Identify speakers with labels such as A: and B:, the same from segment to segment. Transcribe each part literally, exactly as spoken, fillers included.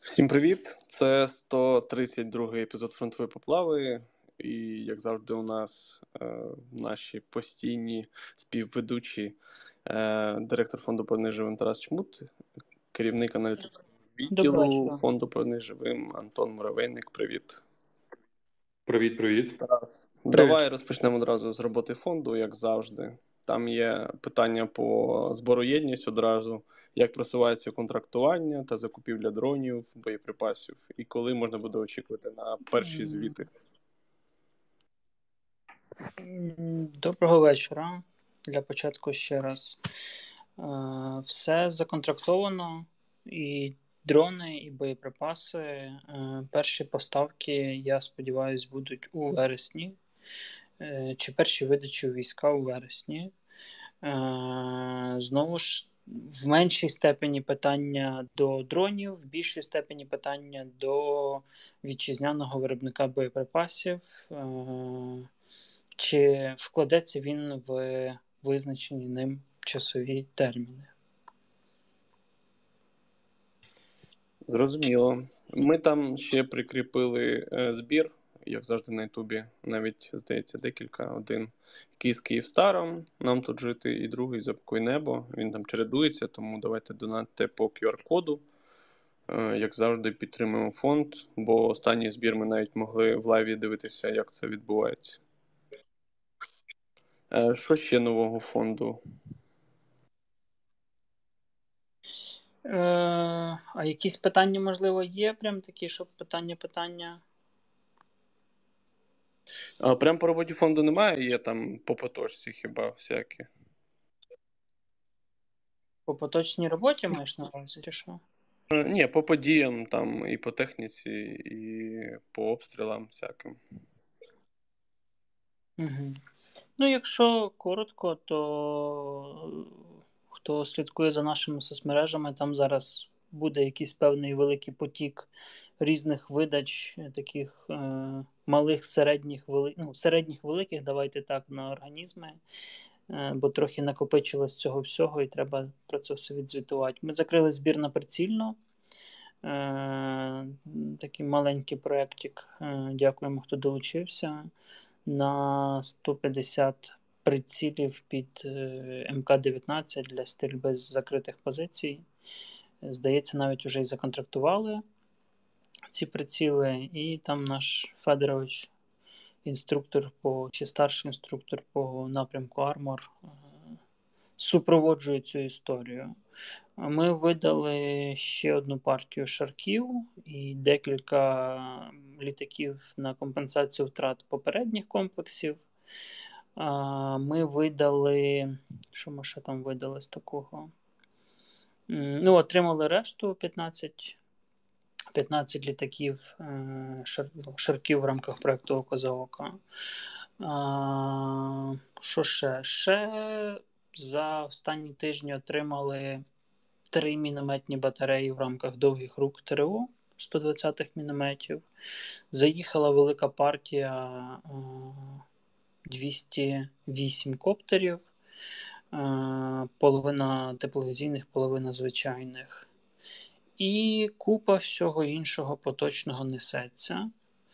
A: Всім привіт! Це сто тридцять другий епізод «Фронтової поплави». І, як завжди, у нас е, наші постійні співведучі, е, директор фонду «Повернись живим» Тарас Чмут, керівник аналітичного відділу фонду «Повернись живим» Антон Муравейник. Привіт!
B: Привіт, привіт.
A: Тарас,
B: Привіт.
A: Давай розпочнемо одразу з роботи фонду, як завжди. Там є питання по збору єдність одразу, як просувається контрактування та закупівля дронів, боєприпасів, і коли можна буде очікувати на перші звіти.
C: Доброго вечора. Для початку ще раз. Все законтрактовано, і дрони, і боєприпаси. Перші поставки, я сподіваюся, будуть у вересні, чи перші видачі у війська у вересні. Знову ж, в меншій степені питання до дронів, в більшій степені питання до вітчизняного виробника боєприпасів. Чи вкладеться він в визначені ним часові терміни?
A: Зрозуміло. Ми там ще прикріпили е, збір, як завжди на Ютубі, навіть, здається, декілька. Один який з Київстаром, нам тут жити, і другий «Запакуй небо». Він там чередується, тому давайте донатьте по ку ар-коду. Е, як завжди, підтримуємо фонд, бо останній збір ми навіть могли в лайві дивитися, як це відбувається. Е, що ще нового фонду?
C: Е, а якісь питання, можливо, є? Прям такі, щоб питання-питання?
A: А, прям по роботі фонду немає, є там по поточці хіба всякі.
C: По поточній роботі маєш на увазі, чи що?
A: Е, ні, по подіям там і по техніці, і по обстрілам всяким.
C: Угу. Ну, якщо коротко, то хто слідкує за нашими соцмережами, там зараз буде якийсь певний великий потік різних видач, таких е, малих, середніх, вели... ну, середніх, великих, давайте так, на організми, е, бо трохи накопичилось цього всього і треба про це все відзвітувати. Ми закрили збір на прицільно. Е, такий маленький проєктик, е, дякуємо, хто долучився, на сто п'ятдесят прицілів під ем ка дев'ятнадцять для стрільби з закритих позицій. Здається, навіть вже і законтрактували ці приціли, і там наш Федорович, інструктор по, чи старший інструктор по напрямку Армор, супроводжує цю історію. Ми видали ще одну партію шарків і декілька літаків на компенсацію втрат попередніх комплексів. Ми видали, що ми ще там видали з такого? Ну, отримали решту п'ятнадцять, п'ятнадцять літаків шар, шарків в рамках проєкту «Око за око». Що ще? Ще за останні тижні отримали три мінометні батареї в рамках довгих рук ТРО сто двадцятих мінометів. Заїхала велика партія двісті вісім коптерів, половина тепловізійних, половина звичайних. І купа всього іншого поточного несеться.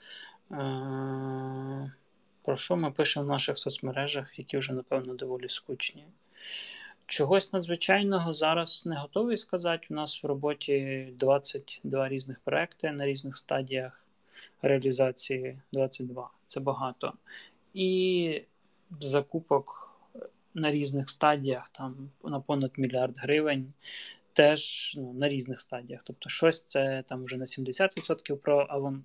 C: Про що ми пишемо в наших соцмережах, які вже, напевно, доволі скучні. Чогось надзвичайного зараз не готовий сказати. У нас в роботі двадцять два різних проекти на різних стадіях реалізації. двадцять два. Це багато. І закупок на різних стадіях, там на понад мільярд гривень, теж ну, на різних стадіях. Тобто щось це там вже на сімдесят відсотків проавансовано,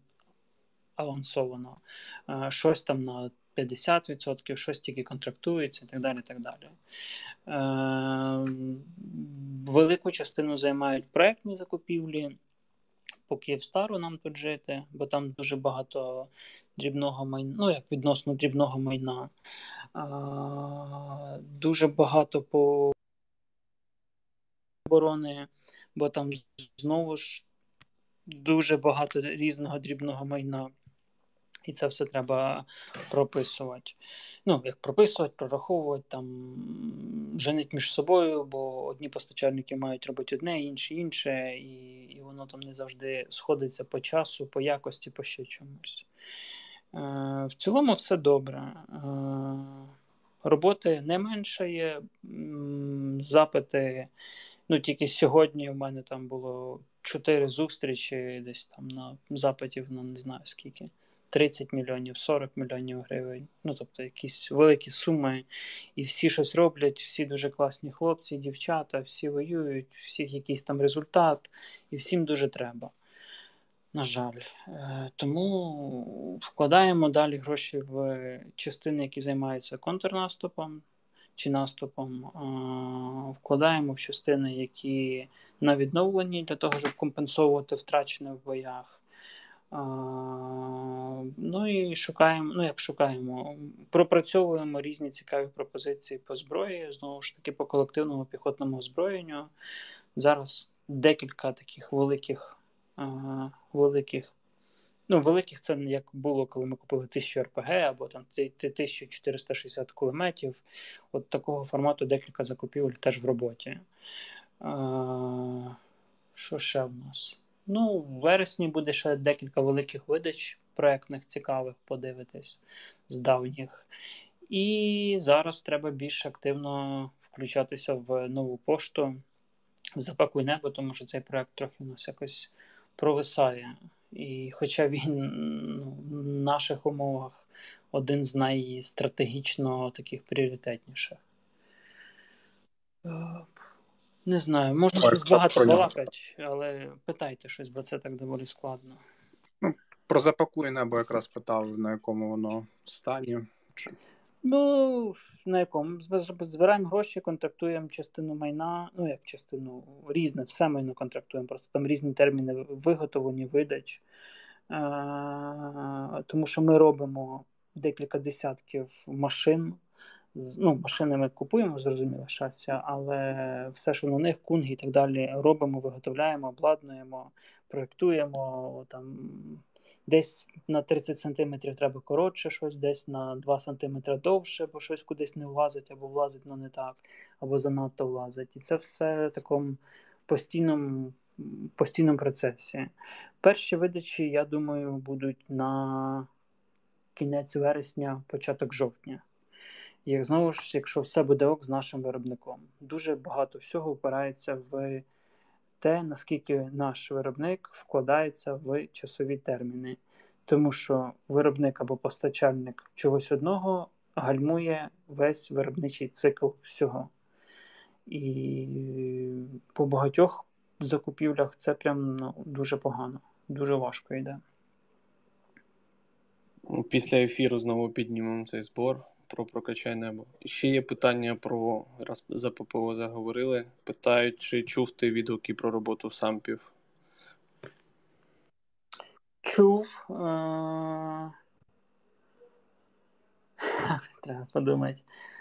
C: щось там на п'ятдесят відсотків, щось тільки контрактується і так далі. Так далі. Е, велику частину займають проектні закупівлі. По Київстару нам тут жити, бо там дуже багато дрібного майна, ну як відносно дрібного майна. Е, дуже багато по оборони, бо там знову ж дуже багато різного дрібного майна. І це все треба прописувати. ну, як прописувати, прораховувати, там, женить між собою, бо одні постачальники мають робити одне, інші інше, і, і воно там не завжди сходиться по часу, по якості, по ще чомусь. Е, в цілому все добре. Е, роботи не меншає, м, запити. Ну, тільки сьогодні в мене там було чотири зустрічі, десь там на запитів, ну, не знаю скільки. тридцять мільйонів, сорок мільйонів гривень. Ну, тобто якісь великі суми. І всі щось роблять, всі дуже класні хлопці, дівчата, всі воюють, всіх якийсь там результат, і всім дуже треба. На жаль. Е, Тому вкладаємо далі гроші в частини, які займаються контрнаступом чи наступом. Е, Вкладаємо в частини, які на відновленні для того, щоб компенсовувати втрачене в боях. Е, Ну і шукаємо, ну як шукаємо, пропрацьовуємо різні цікаві пропозиції по зброї, знову ж таки, по колективному піхотному озброєнню. Зараз декілька таких великих, е, великих, ну великих це як було, коли ми купили тисячу ар пі ге або там тисячу чотириста шістдесят кулеметів. От такого формату декілька закупівель теж в роботі. Е, Що ще в нас? Ну, в вересні буде ще декілька великих видач проєктних, цікавих, подивитись з давніх. І зараз треба більш активно включатися в нову пошту, в «Запакуй небо», тому що цей проєкт трохи у нас якось провисає. І хоча він, ну, в наших умовах один з найстратегічно таких пріоритетніших. Е, Не знаю, можна
D: Ой,
C: щось
D: хто
C: багато
D: про нього?
C: балакати, але питайте щось, бо це так доволі складно.
D: Ну, про «Запакуй небо» якраз питав, на якому воно стані. Чи...
C: Ну, на якому? Зб- Збираємо гроші, контрактуємо частину майна, ну як частину, різне, все майно контрактуємо, просто там різні терміни виготовлення, видач. Е, Тому що ми робимо декілька десятків машин. З- Ну, машини ми купуємо, зрозуміло, щастя, але все, що на них, кунги і так далі, робимо, виготовляємо, обладнуємо, проєктуємо. Там, десь на тридцять сантиметрів треба коротше щось, десь на два сантиметри довше, бо щось кудись не влазить, або влазить, але не так, або занадто влазить. І це все в такому постійному, постійному процесі. Перші видачі, я думаю, будуть на кінець вересня, початок жовтня. Як знову ж, якщо все буде ок з нашим виробником. Дуже багато всього впирається в те, наскільки наш виробник вкладається в часові терміни. Тому що виробник або постачальник чогось одного гальмує весь виробничий цикл всього. І по багатьох закупівлях це прям, ну, дуже погано, дуже важко йде.
A: Після ефіру знову піднімемо цей збор про «Прокачай небо». І ще є питання про, раз за ППО заговорили, питають, чи чув ти відгуки про роботу сампів?
C: Чув. Е- Треба подумати.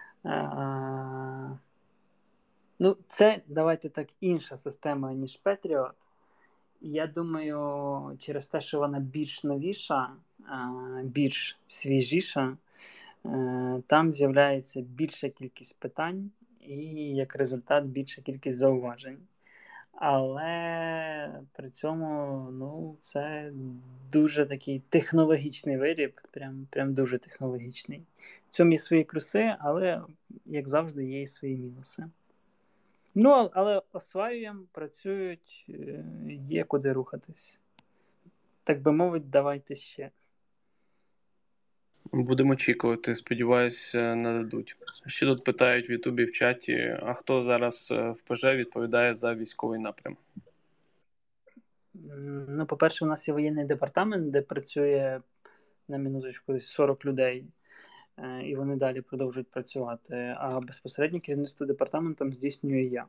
C: Е- Ну, це, давайте так, інша система, ніж Patriot. Я думаю, через те, що вона більш новіша, е- більш свіжіша, е- там з'являється більша кількість питань і, як результат, більша кількість зауважень. Але при цьому, ну, це дуже такий технологічний виріб, прям, прям дуже технологічний. В цьому є свої плюси, але, як завжди, є і свої мінуси. Ну, але осваюємо, працюють, е, є куди рухатись. Так би мовити, давайте ще.
A: Будемо очікувати, сподіваюсь, нададуть. Ще тут питають в Ютубі в чаті, а хто зараз в ПЖ відповідає за військовий напрям?
C: Ну, по-перше, у нас є воєнний департамент, де працює, на минуточку, сорок людей, і вони далі продовжують працювати. А безпосередньо керівництво департаментом здійснюю я.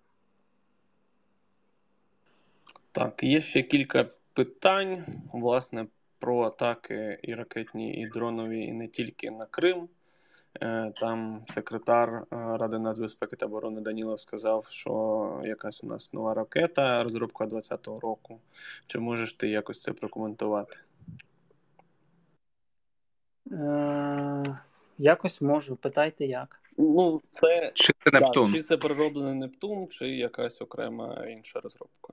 A: Так, є ще кілька питань, власне, про атаки і ракетні, і дронові, і не тільки на Крим. Там секретар Ради нацбезпеки та оборони Данілов сказав, що якась у нас нова ракета, розробка двадцятого року. Чи можеш ти якось це прокоментувати?
C: Е- якось можу, питайте як.
A: Ну, це,
D: Чи це
A: так,
D: Нептун?
A: чи це перероблений Нептун, чи якась окрема інша розробка.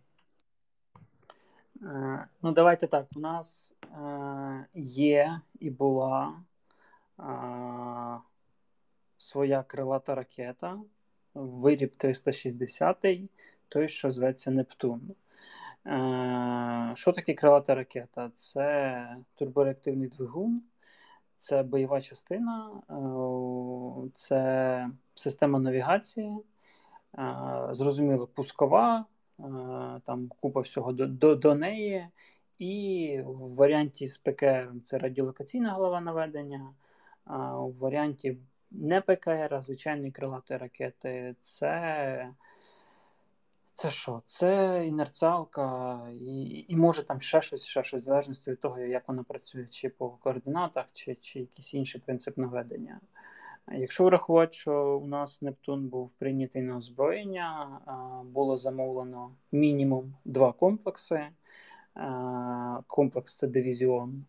C: Е, ну, давайте так. У нас е, є і була е, своя крилата ракета, виріб триста шістдесят, той, що зветься Нептун. Е, що таке крилата ракета? Це турбореактивний двигун, це бойова частина, е, це система навігації, е, зрозуміло, пускова, е, там купа всього до, до, до неї. І в варіанті з ПКР це радіолокаційна голова наведення, а в варіанті не ПКР, а звичайної крилатої ракети це. Це що? Це інерціалка і, і може там ще щось, ще щось, в залежності від того, як вона працює, чи по координатах, чи, чи якийсь інший принцип наведення. Якщо врахувати, що у нас Нептун був прийнятий на озброєння, було замовлено мінімум два комплекси. Комплекс – це дивізіон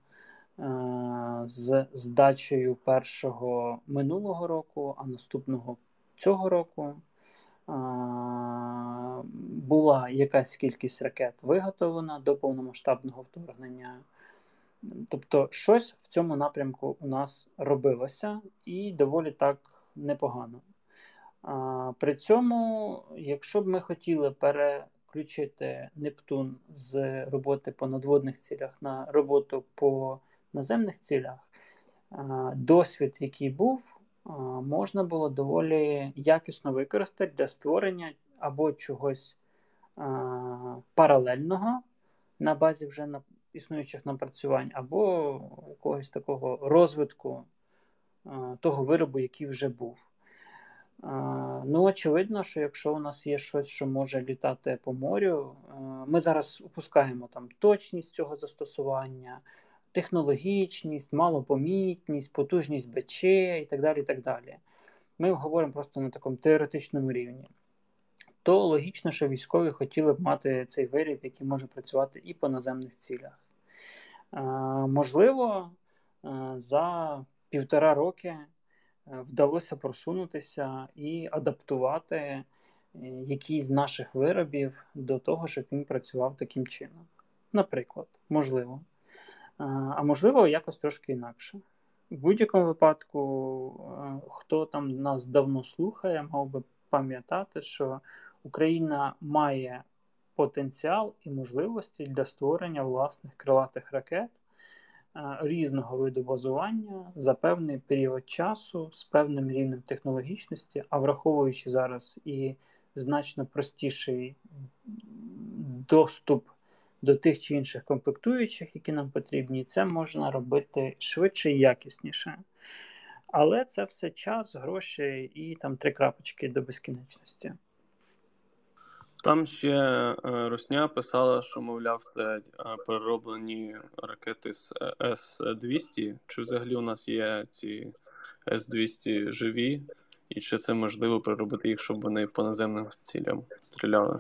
C: з здачею першого минулого року, а наступного цього року. Була якась кількість ракет виготовлена до повномасштабного вторгнення. Тобто щось в цьому напрямку у нас робилося і доволі так непогано. При цьому, якщо б ми хотіли переключити Нептун з роботи по надводних цілях на роботу по наземних цілях, досвід, який був, можна було доволі якісно використати для створення або чогось а, паралельного на базі вже на існуючих напрацювань, або якогось такого розвитку а, того виробу, який вже був. А, ну, очевидно, що якщо у нас є щось, що може літати по морю, а, ми зараз опускаємо там точність цього застосування, технологічність, малопомітність, потужність БЧ і так далі, і так далі. Ми говоримо просто на такому теоретичному рівні. То логічно, що військові хотіли б мати цей виріб, який може працювати і по наземних цілях. Е, можливо, е, за півтора роки вдалося просунутися і адаптувати якийсь з наших виробів до того, щоб він працював таким чином. Наприклад, можливо. А можливо, якось трошки інакше. В будь-якому випадку, хто там нас давно слухає, мав би пам'ятати, що Україна має потенціал і можливості для створення власних крилатих ракет різного виду базування за певний період часу з певним рівнем технологічності, а враховуючи зараз і значно простіший доступ до тих чи інших комплектуючих, які нам потрібні, це можна робити швидше і якісніше. Але це все час, гроші і там три крапочки до безкінечності.
A: Там ще е, Русня писала, що, мовляв, це е, перероблені ракети з С двісті. Чи взагалі у нас є ці С двісті живі? І чи це можливо переробити їх, щоб вони по наземним цілям стріляли?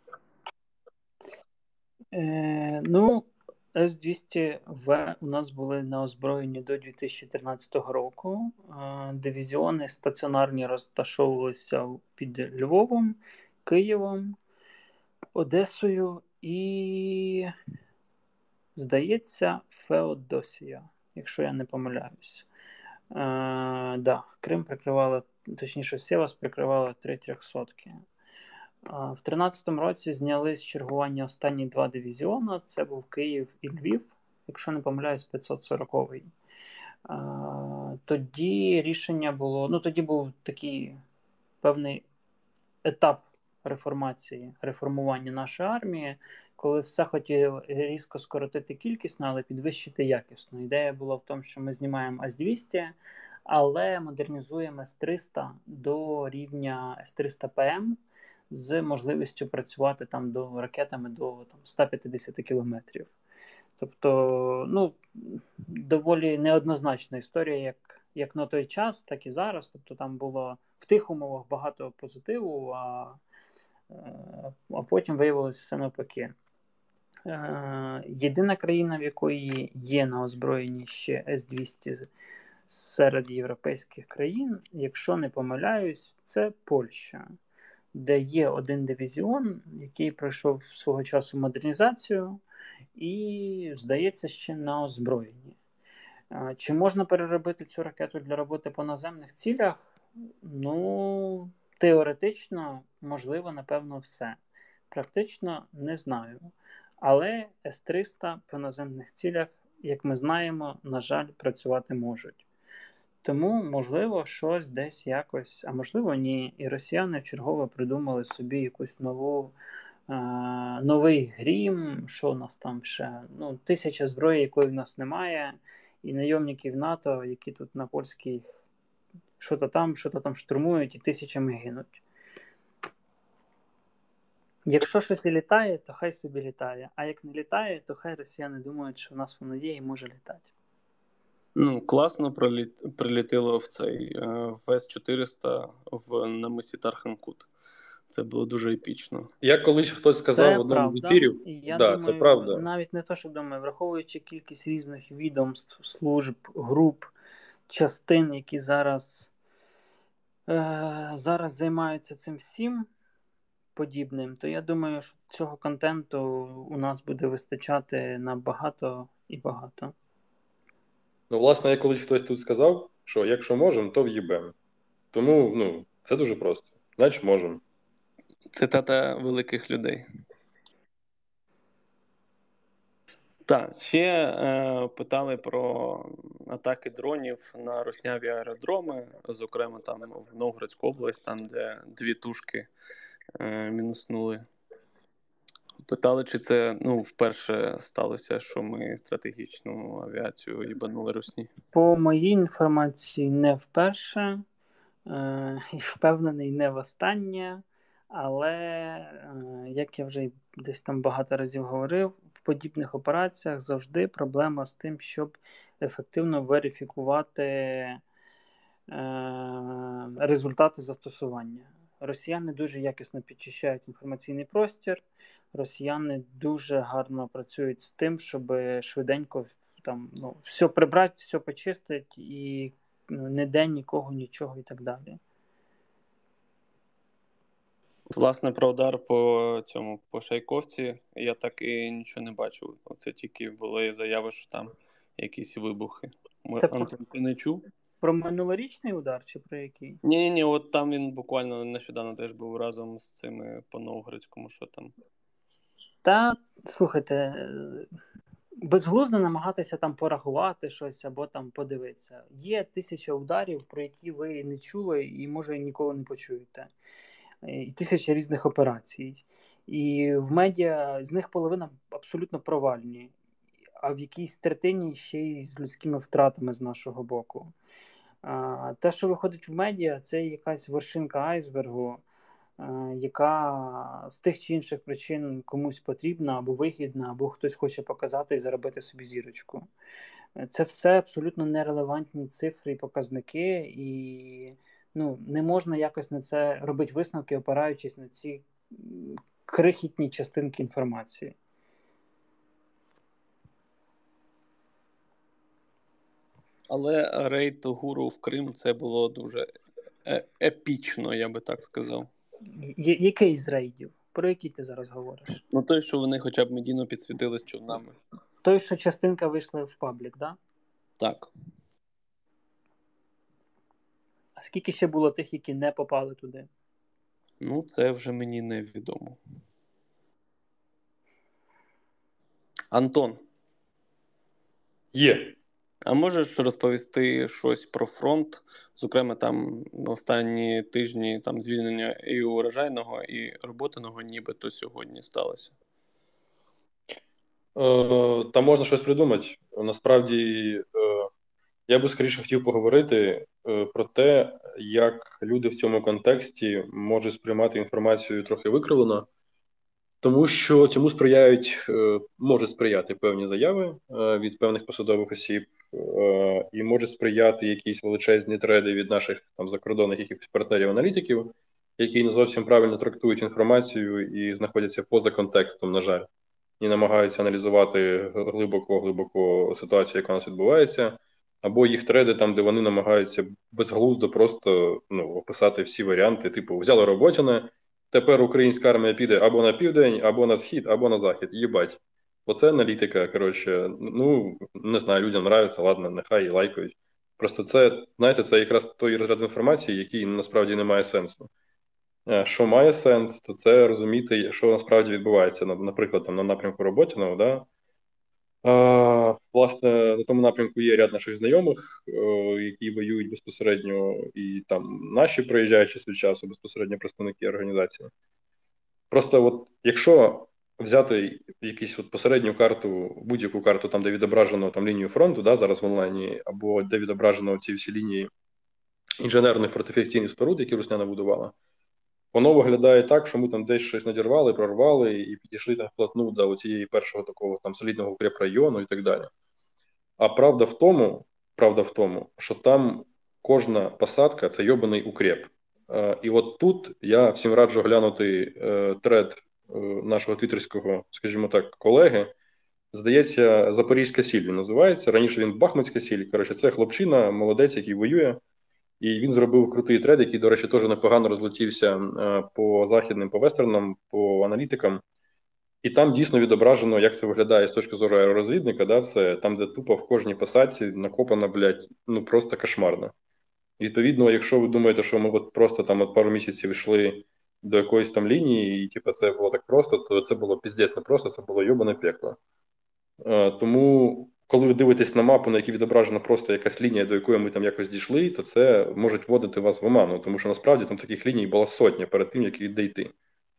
C: Е, ну, С двісті В у нас були на озброєнні до дві тисячі тринадцятого року. Е, дивізіони стаціонарні розташовувалися під Львовом, Києвом, Одесою і, здається, Феодосія, якщо я не помиляюсь. Е, да, Крим прикривала, точніше, Сєвас прикривала три трьохсотки. В тринадцятому році зняли з чергування останні два дивізіони. Це був Київ і Львів, якщо не помиляюсь, п'ятсот сороковий. Тоді рішення було, ну тоді був такий певний етап реформації, реформування нашої армії, коли все хотіли різко скоротити кількісно, але підвищити якісно. Ідея була в тому, що ми знімаємо С двісті, але модернізуємо С триста до рівня С триста П М, з можливістю працювати там до ракетами до там, сто п'ятдесят кілометрів. Тобто, ну, доволі неоднозначна історія, як, як на той час, так і зараз. Тобто там було в тих умовах багато позитиву, а, а потім виявилося все навпаки. Єдина країна, в якої є на озброєнні ще С двісті серед європейських країн, якщо не помиляюсь, це Польща, де є один дивізіон, який пройшов свого часу модернізацію і, здається, ще на озброєнні. Чи можна переробити цю ракету для роботи по наземних цілях? Ну, теоретично, можливо, напевно, все. Практично не знаю. Але С триста по наземних цілях, як ми знаємо, на жаль, працювати можуть. Тому, можливо, щось десь якось, а можливо, ні. І росіяни вчергово придумали собі якусь нову, е, новий грім, що у нас там ще, ну, тисяча зброї, якої в нас немає, і найомників НАТО, які тут на польських що-то там, що-то там штурмують і тисячами гинуть. Якщо щось і літає, то хай собі літає. А як не літає, то хай росіяни думають, що в нас воно є і може літати.
A: Ну, класно проліт... прилетіло в цей в С чотириста в на мисі Тарханкут. Це було дуже епічно.
B: Як колись хтось сказав
C: Це
B: в одному
C: правда.
B: з ефірів,
C: Я
B: да,
C: думаю,
B: це правда.
C: навіть не то, що думаю, враховуючи кількість різних відомств, служб, груп, частин, які зараз, е- зараз займаються цим всім подібним, то я думаю, що цього контенту у нас буде вистачати на багато і багато.
B: Ну, власне, як колись хтось тут сказав, що якщо можемо, то в'їбемо. Тому, ну, це дуже просто. Значить, можемо.
A: Цитата великих людей. Так, ще е, питали про атаки дронів на русняві аеродроми, зокрема там в Новгородську область, там де дві тушки е, мінуснули. Питали, чи це ну, вперше сталося, що ми стратегічну авіацію їбанули русні.
C: По моїй інформації, не вперше, е, і впевнений, не востаннє, але, е, як я вже десь там багато разів говорив, в подібних операціях завжди проблема з тим, щоб ефективно верифікувати е, результати застосування. Росіяни дуже якісно підчищають інформаційний простір, росіяни дуже гарно працюють з тим, щоб швиденько там, ну, все прибрати, все почистити і ну, ніде нікого, нічого і так далі.
A: Власне, про удар по цьому, по Шайковці, я так і нічого не бачив. Оце тільки були заяви, що там якісь вибухи.
C: Це
A: Антон, ти не чув?
C: Про минулорічний удар чи про який?
A: Ні-ні-ні, от там він буквально нещодавно теж був разом з цими по Новгородському, що там.
C: Та, слухайте, безглуздо намагатися там порахувати щось або там подивитися. Є тисяча ударів, про які ви не чули і, може, ніколи не почуєте. І тисяча різних операцій. І в медіа з них половина абсолютно провальні, а в якійсь третині ще й з людськими втратами з нашого боку. А, те, що виходить в медіа, це якась вершинка айсбергу, а, яка з тих чи інших причин комусь потрібна або вигідна, або хтось хоче показати і заробити собі зірочку. Це все абсолютно нерелевантні цифри і показники, і ну, не можна якось на це робити висновки, опираючись на ці крихітні частинки інформації.
A: Але рейд гуру в Крим це було дуже епічно, я би так сказав.
C: Я- який з рейдів? Про який ти зараз говориш?
A: Ну той, що вони хоча б медійно підсвітили з човнами.
C: Той, що частинка вийшла в паблік, да?
A: Так.
C: А скільки ще було тих, які не попали туди?
A: Ну, це вже мені невідомо. Антон,
B: Є.
A: а можеш розповісти щось про фронт? Зокрема, там останні тижні там звільнення і урожайного, і роботиного нібито сьогодні сталося.
B: Е, Та можна щось придумати. Насправді, е, я би скоріше хотів поговорити е, про те, як люди в цьому контексті можуть сприймати інформацію трохи викривлено, тому що цьому сприяють, е, можуть сприяти певні заяви е, від певних посадових осіб, е, і можуть сприяти якісь величезні треди від наших там закордонних якихось партнерів-аналітиків, які не зовсім правильно трактують інформацію і знаходяться поза контекстом, на жаль, і намагаються аналізувати глибоко-глибоко ситуацію, яка у нас відбувається, або їх треди там, де вони намагаються безглуздо просто ну, описати всі варіанти, типу, взяли Роботіна, тепер українська армія піде або на південь, або на схід, або на захід. Єбать. Оце аналітика, коротше, ну, не знаю, людям нравиться, ладно, нехай і лайкають. Просто це, знаєте, це якраз той розряд інформації, який насправді не має сенсу. Що має сенс, то це розуміти, що насправді відбувається, наприклад, там, на напрямку Роботіного, да? А, власне, на тому напрямку є ряд наших знайомих, о, які воюють безпосередньо, і там наші приїжджають час від часу, безпосередньо представники організації. Просто от, якщо взяти якусь от посередню карту, будь-яку карту, там, де відображено там, лінію фронту, да, зараз в онлайні, або де відображено ці всі лінії інженерних фортифікаційних споруд, які Русня набудувала, воно виглядає так, що ми там десь щось надірвали, прорвали і підійшли так вплотну до цієї першого такого там солідного укрепрайону і так далі. А правда в тому, правда в тому, що там кожна посадка – це йобаний укреп. Е, і от тут я всім раджу глянути е, тред е, нашого твіттерського, скажімо так, колеги. Здається, Запорізька сіль він називається. Раніше він Бахмутська сіль. Коротше, це хлопчина, молодець, який воює. І він зробив крутий тред, який, до речі, теж непогано розлетівся е, по західним, по вестернам, по аналітикам. І там дійсно відображено, як це виглядає з точки зору аеророзвідника, да, це там, де тупо в кожній посадці накопано, блядь, ну просто кошмарно. Відповідно, якщо ви думаєте, що ми от просто там от пару місяців йшли до якоїсь там лінії, і типу, це було так просто, то це було піздець не просто, це було йобане пекло. Е, тому, коли ви дивитесь на мапу, на якій відображена просто якась лінія, до якої ми там якось дійшли, то це може вводити вас в оману, тому що насправді там таких ліній була сотня перед тим, як дійти.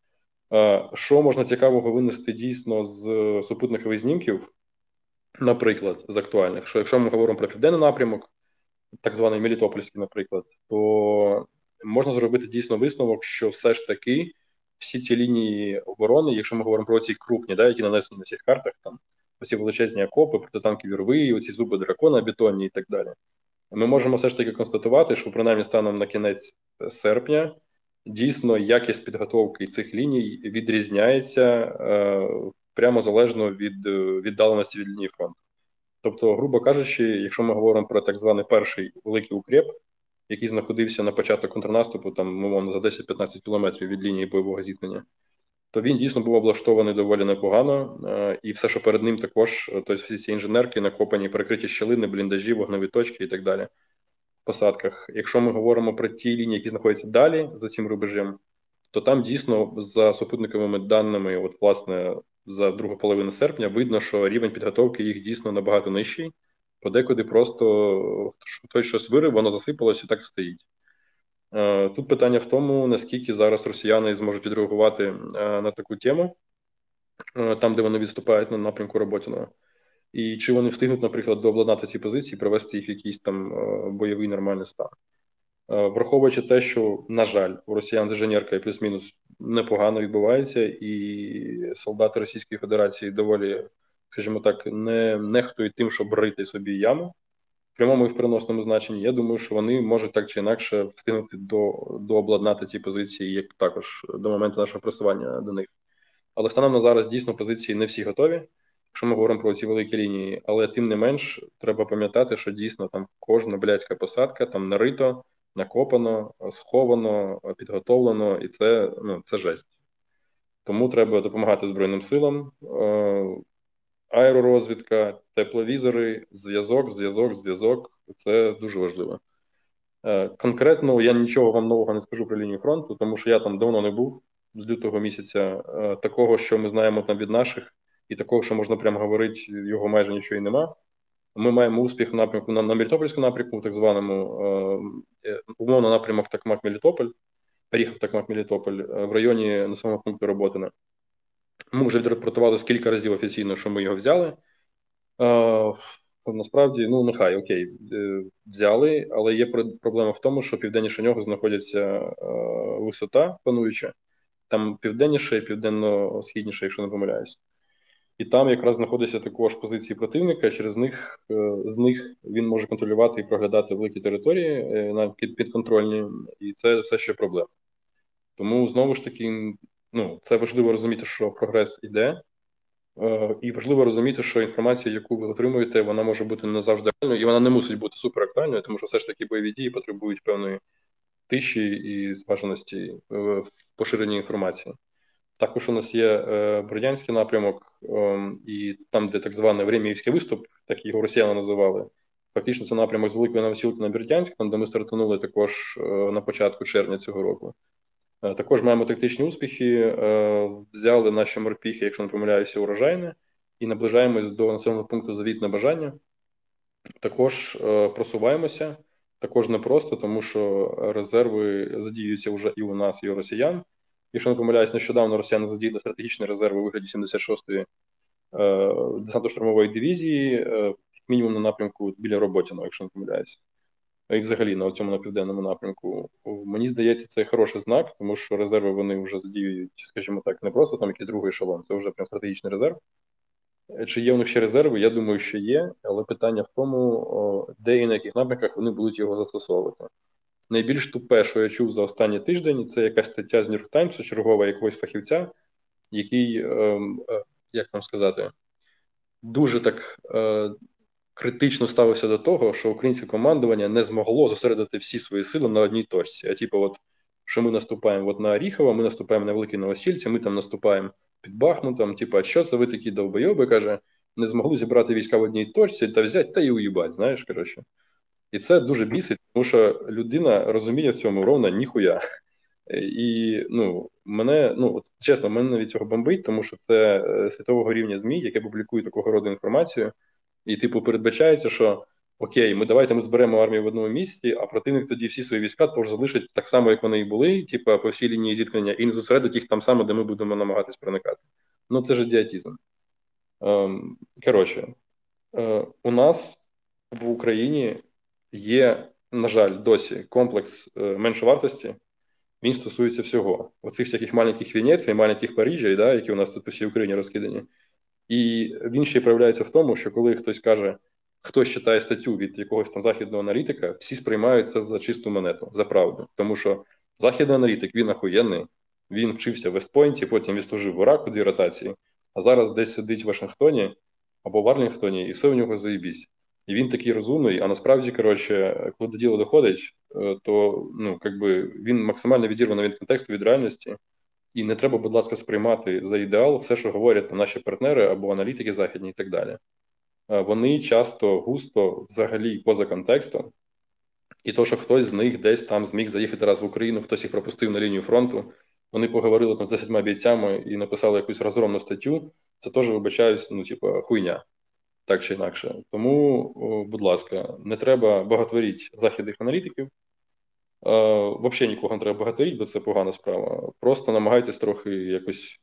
B: Що можна цікавого винести дійсно з супутникових знімків, наприклад, з актуальних, що якщо ми говоримо про південний напрямок, так званий Мелітопольський, наприклад, то можна зробити дійсно висновок, що все ж таки всі ці лінії оборони, якщо ми говоримо про ці крупні, да, які нанесені на цих картах, там оці величезні окопи, протитанкові рви, оці зуби дракона бетонні і так далі, ми можемо все ж таки констатувати, що принаймні станом на кінець серпня дійсно якість підготовки цих ліній відрізняється е, прямо залежно від віддаленості від лінії фронту. Тобто, грубо кажучи, якщо ми говоримо про так званий перший великий укреп, який знаходився на початку контрнаступу, там, умовно, за десять-п'ятнадцять кілометрів від лінії бойового зіткнення, то він дійсно був облаштований доволі непогано, е, і все, що перед ним також, тобто всі ці інженерки накопані, перекриті щілини, бліндажі, вогневі точки і так далі. Посадках. Якщо ми говоримо про ті лінії, які знаходяться далі за цим рубежем, то там дійсно за супутниковими даними, от власне за другу половину серпня, видно, що рівень підготовки їх дійсно набагато нижчий. Подекуди просто хтось щось вирив, воно засипалося і так стоїть. Тут питання в тому, наскільки зараз росіяни зможуть відреагувати на таку тему, там, де вони відступають на напрямку Роботіного. І чи вони встигнуть, наприклад, дообладнати ці позиції, привести їх в якийсь там бойовий нормальний стан. Враховуючи те, що, на жаль, у росіян інженерка і плюс-мінус непогано відбувається, і солдати Російської Федерації доволі, скажімо так, не нехтують тим, щоб рити собі яму в прямому і в переносному значенні. Я думаю, що вони можуть так чи інакше встигнути до, дообладнати ці позиції, як також до моменту нашого просування до них. Але станом на зараз дійсно позиції не всі готові, якщо ми говоримо про ці великі лінії, але тим не менш треба пам'ятати, що дійсно там кожна блядська посадка там нарито, накопано, сховано, підготовлено, і це, ну, це жесть. Тому треба допомагати Збройним силам, аеророзвідка, тепловізори, зв'язок, зв'язок, зв'язок. Це дуже важливо. Конкретно я нічого вам нового не скажу про лінію фронту, тому що я там давно не був, з лютого місяця. Такого, що ми знаємо там від наших, і такого, що можна прямо говорити, його майже нічого і нема. Ми маємо успіх в напрямку на, на Мелітопольському напрямку, так званому, е, умовно напрямок Такмак-Мелітополь, переїхав Такмак-Мелітополь в районі населеного пункту Роботине. Ми вже відрапортували скільки разів офіційно, що ми його взяли. Е, насправді, ну нехай, окей, е, взяли, але є проблема в тому, що південніше нього знаходиться е, висота пануюча, там південніше і південно-східніше, якщо не помиляюсь. І там якраз знаходяться також позиції противника, через них, з них він може контролювати і проглядати великі території на підконтрольні, і це все ще проблема. Тому, знову ж таки, ну, це важливо розуміти, що прогрес іде, І важливо розуміти, що інформація, яку ви отримуєте, вона може бути не завжди актуальною, і вона не мусить бути суперактуальною, тому що все ж таки бойові дії потребують певної тиші і зваженості в поширенні інформації. Також у нас є Бердянський напрямок, і там, де так званий Времіївський виступ, так його росіяни називали. Фактично, це напрямок з Великої Новосілки на Бердянськ, там, де ми стартанули також на початку червня цього року. Також маємо тактичні успіхи, взяли наші морпіхи, якщо не помиляюся, урожайне, і наближаємось до населеного пункту Завітне Бажання. Також просуваємося, також непросто, тому що резерви задіюються вже і у нас, і у росіян. Якщо не помиляюсь, нещодавно росіяни задіяли стратегічні резерви у вигляді сімдесят шостої десантно-штурмової дивізії, мінімум на напрямку біля Роботіного, якщо не помиляюсь. І взагалі на цьому на південному напрямку. Мені здається, це хороший знак, тому що резерви вони вже задіюють, скажімо так, не просто там якийсь другий ешелон, це вже прям стратегічний резерв. Чи є у них ще резерви? Я думаю, що є, але питання в тому, де і на яких напрямках вони будуть його застосовувати. Найбільш тупе, що я чув за останній тиждень, це якась стаття з Нью-Йорк Таймсу, чергова якогось фахівця, який, як вам сказати, дуже так критично ставився до того, що українське командування не змогло зосередити всі свої сили на одній точці. А типу, от, що ми наступаємо от на Оріхово, ми наступаємо на Великій Новосільці, ми там наступаємо під Бахмутом, типу, а що це ви такі довбойоби, каже, не змогли зібрати війська в одній точці та взяти та й уїбать, знаєш, коротше. І це дуже бісить, тому що людина розуміє в цьому ровно ніхуя. І, ну, мене, ну, от, чесно, мене навіть цього бомбить, тому що це світового рівня ЗМІ, яке публікує такого роду інформацію, і, типу, передбачається, що окей, ми давайте ми зберемо армію в одному місці, а противник тоді всі свої війська тож залишить так само, як вони і були, типу, по всій лінії зіткнення, і не зосередить їх там само, де ми будемо намагатись проникати. Ну, це ж ідіотизм. Ем, коротше, е, у нас в Україні є, на жаль, досі комплекс е, меншовартості. Він стосується всього. Оцих всяких маленьких Венецій, маленьких Парижів, да, які у нас тут по всій Україні розкидані. І він ще проявляється в тому, що коли хтось каже, хтось читає статтю від якогось там західного аналітика, всі сприймають це за чисту монету, за правду. Тому що західний аналітик, він охуєнний, він вчився в Вестпойнті, потім відслужив в Іраку дві ротації, а зараз десь сидить в Вашингтоні або в Арлінгтоні, і все у нього заєбісь. І він такий розумний, а насправді, коротше, коли до діла доходить, то, ну, якби він максимально відірваний від контексту, від реальності. І не треба, будь ласка, сприймати за ідеал все, що говорять наші партнери або аналітики західні і так далі. Вони часто густо взагалі поза контекстом. І то, що хтось з них десь там зміг заїхати раз в Україну, хтось їх пропустив на лінію фронту, вони поговорили там з десятьма бійцями і написали якусь розгромну статтю, це теж, вибачаюсь, ну, типу, хуйня. Так чи інакше. Тому, будь ласка, не треба багатворіть західних аналітиків. Uh, взагалі нікого не треба багатирити, бо це погана справа. Просто намагайтесь трохи якось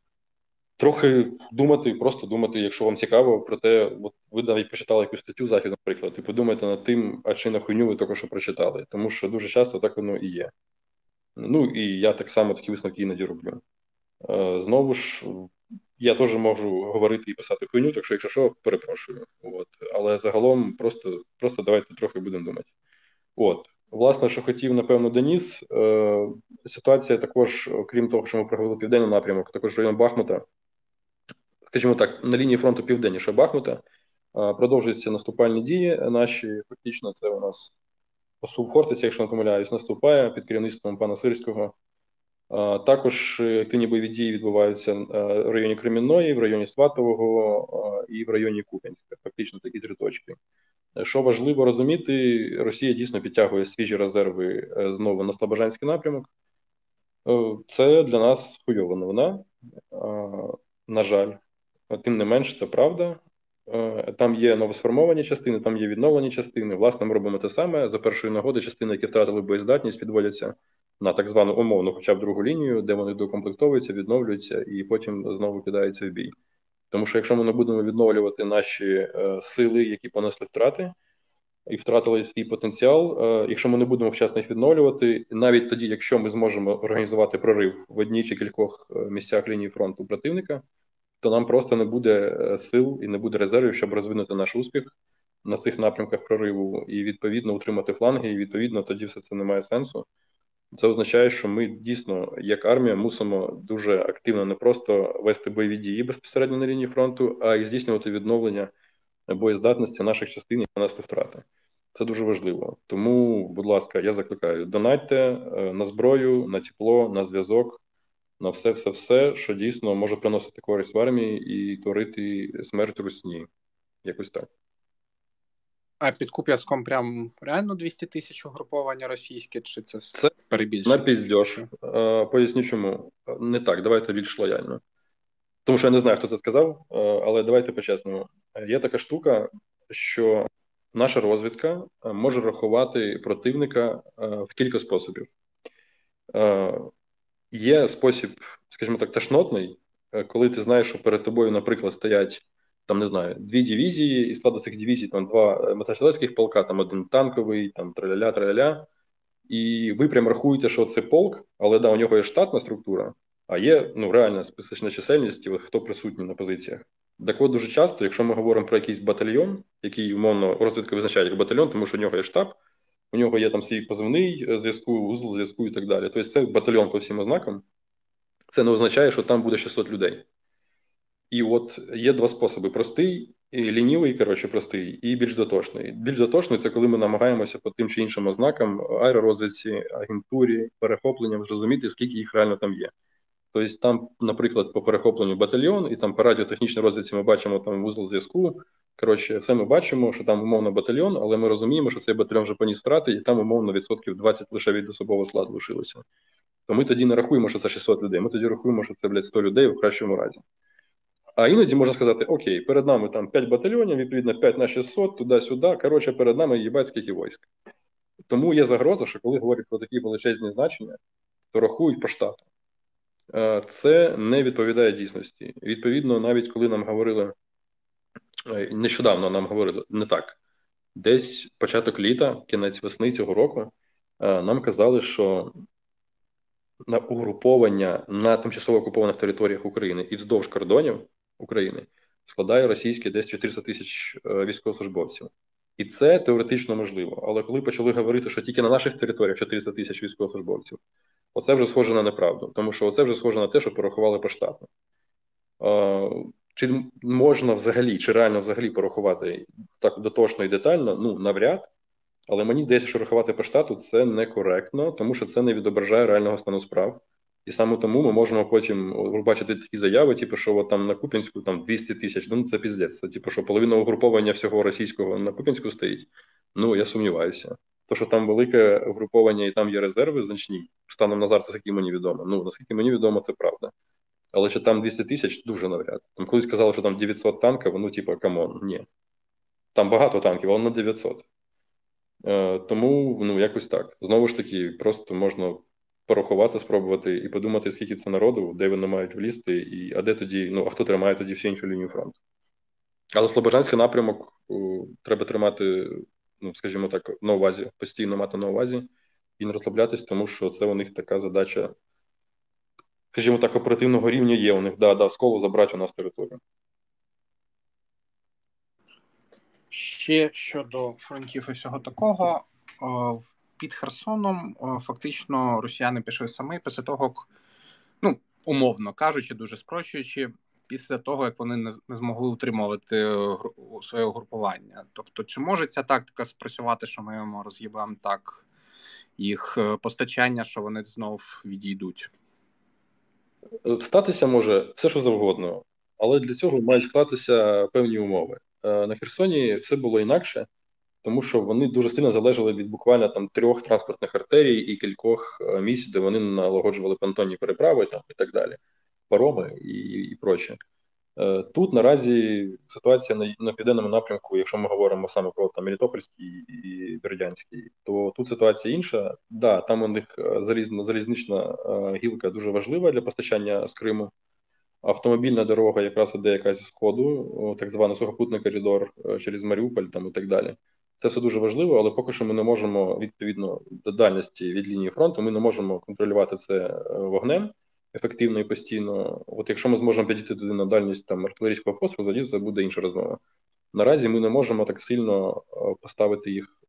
B: трохи думати, просто думати, якщо вам цікаво, про те, от ви навіть прочитали якусь статтю західну, наприклад, і подумайте над тим, а чи на хуйню ви тільки що прочитали. Тому що дуже часто так воно і є. Ну, і я так само такі висновки іноді роблю. Uh, знову ж, я теж можу говорити і писати хуйню, так що, якщо що, перепрошую. От. Але загалом просто, просто давайте трохи будемо думати. От. Власне, що хотів, напевно, Деніс, е, ситуація також, крім того, що ми провели південний напрямок, також район Бахмута, скажімо так, на лінії фронту південніше Бахмута, е, продовжуються наступальні дії наші, фактично це у нас посув Хортиця, якщо не помиляюсь, наступає під керівництвом пана Сирського. Е, також активні бойові дії відбуваються в районі Кремінної, в районі Сватового е, і в районі Куп'янська, фактично такі три точки. Що важливо розуміти, Росія дійсно підтягує свіжі резерви знову на Слобожанський напрямок. Це для нас хуйова новина, на жаль. Тим не менш, це правда. Там є новосформовані частини, там є відновлені частини. Власне, ми робимо те саме. За першої нагоди частини, які втратили боєздатність, підводяться на так звану умовну, хоча б другу лінію, де вони докомплектовуються, відновлюються і потім знову кидаються в бій. Тому що якщо ми не будемо відновлювати наші е, сили, які понесли втрати, і втратили свій потенціал, е, якщо ми не будемо вчасно їх відновлювати, навіть тоді, якщо ми зможемо організувати прорив в одній чи кількох місцях лінії фронту противника, то нам просто не буде сил і не буде резервів, щоб розвинути наш успіх на цих напрямках прориву і, відповідно, утримати фланги, і, відповідно, тоді все це не має сенсу. Це означає, що ми дійсно, як армія, мусимо дуже активно не просто вести бойові дії безпосередньо на лінії фронту, а й здійснювати відновлення боєздатності наших частин і нанести втрати. Це дуже важливо. Тому, будь ласка, я закликаю, донатьте на зброю, на тепло, на зв'язок, на все-все-все, що дійсно може приносити користь в армії і творити смерть русні. Якось так.
D: А під Куп'янськом прям реально двісті тисяч угруповання російське, чи це все
B: Це
D: перебільшення?
B: на піздьош. Поясню чому. Не так, давайте більш лояльно. Тому що я не знаю, хто це сказав, але давайте по-чесному. Є така штука, що наша розвідка може рахувати противника в кілька способів. Є спосіб, скажімо так, тошнотний, коли ти знаєш, що перед тобою, наприклад, стоять, там, не знаю, дві дивізії, і складу цих дивізій там два мотострілецьких полка, там один танковий, там траля-ля-траля-ля, і ви прям рахуєте, що це полк, але да, у нього є штатна структура, а є, ну, реальна специфічна чисельність, хто присутній на позиціях. Так от, дуже часто, якщо ми говоримо про якийсь батальйон, який, умовно, розвідка визначає як батальйон, тому що у нього є штаб, у нього є там свій позивний зв'язку, узол зв'язку і так далі. Тобто це батальйон по всім ознакам. Це не означає, що там буде шістсот людей. І от є два способи: простий, і лінівий, коротше, простий, і більш дотошний. Більш дотошний – це коли ми намагаємося по тим чи іншим ознакам, аеророзвідці, агентурі, перехопленням зрозуміти, скільки їх реально там є. Тобто там, наприклад, по перехопленню батальйон, і там по радіотехнічній розвідці ми бачимо там вузол зв'язку. Коротше, все ми бачимо, що там умовно батальйон, але ми розуміємо, що цей батальйон вже поніс втрати, і там умовно відсотків двадцять лише від особового складу лишилося. То ми тоді не рахуємо, що це шістсот людей, ми тоді рахуємо, що це, блядь, сто людей в кращому разі. А іноді можна сказати, окей, перед нами там п'ять батальйонів, відповідно п'ять на шістсот, туди-сюди, коротше, перед нами їбать скільки військ. Тому є загроза, що коли говорять про такі величезні значення, то рахують по штату. Це не відповідає дійсності. Відповідно, навіть коли нам говорили, нещодавно нам говорили не так, десь початок літа, кінець весни цього року, нам казали, що на угруповання на тимчасово окупованих територіях України і вздовж кордонів України складає російське десь чотириста тисяч військовослужбовців. І це теоретично можливо. Але коли почали говорити, що тільки на наших територіях чотириста тисяч військовослужбовців, оце вже схоже на неправду. Тому що оце вже схоже на те, що порахували поштатно. Чи можна взагалі, чи реально взагалі порахувати так дотошно і детально? Ну, навряд. Але мені здається, що рахувати по штату – це некоректно, тому що це не відображає реального стану справ. І саме тому ми можемо потім бачити такі заяви, типу, що от там на Куп'янську там двісті тисяч, ну це піздець. Це типу, що половина угруповання всього російського на Куп'янську стоїть. Ну, я сумніваюся. То, що там велике угруповання і там є резерви значні, станом на зараз, наскільки мені відомо. Ну, наскільки мені відомо, це правда. Але чи там двісті тисяч, дуже навряд. Там колись казали, що там дев'ятсот танків, ну, типу, камон, ні. Там багато танків, але не дев'ятсот. Тому, ну, якось так. Знову ж таки, просто можна порахувати, спробувати і подумати, скільки це народу, де вони мають влізти, і, а де тоді, ну, а хто тримає тоді всю іншу лінію фронту. Але Слобожанський напрямок о, треба тримати, ну, скажімо так, на увазі, постійно мати на увазі і не розслаблятись, тому що це у них така задача, скажімо так, оперативного рівня є у них, да, да, сколу забрати у нас територію.
D: Ще щодо фронтів і всього такого, під Херсоном фактично росіяни пішли самі після того, як, ну, умовно кажучи, дуже спрощуючи, після того, як вони не змогли утримувати своє угрупування. Тобто, чи може ця тактика спрацювати, що ми йому роз'їбаємо так їх постачання, що вони знов відійдуть?
B: Статися може все, що завгодно, але для цього мають склатися певні умови. На Херсоні все було інакше, тому що вони дуже сильно залежали від буквально там трьох транспортних артерій і кількох місць, де вони налагоджували понтонні переправи там, і так далі, пароми і, і проче. Тут наразі ситуація на, на південному напрямку, якщо ми говоримо саме про там Мелітопольський і Бердянський, то тут ситуація інша. Да, там у них залізна, залізнична гілка дуже важлива для постачання з Криму. Автомобільна дорога якраз іде якась з сходу, так званий сухопутний коридор через Маріуполь там і так далі. Це все дуже важливо, але поки що ми не можемо, відповідно до дальності від лінії фронту, ми не можемо контролювати це вогнем ефективно і постійно. От якщо ми зможемо підійти туди на дальність там артилерійського пострілу, тоді це буде інша розмова. Наразі ми не можемо так сильно поставити їх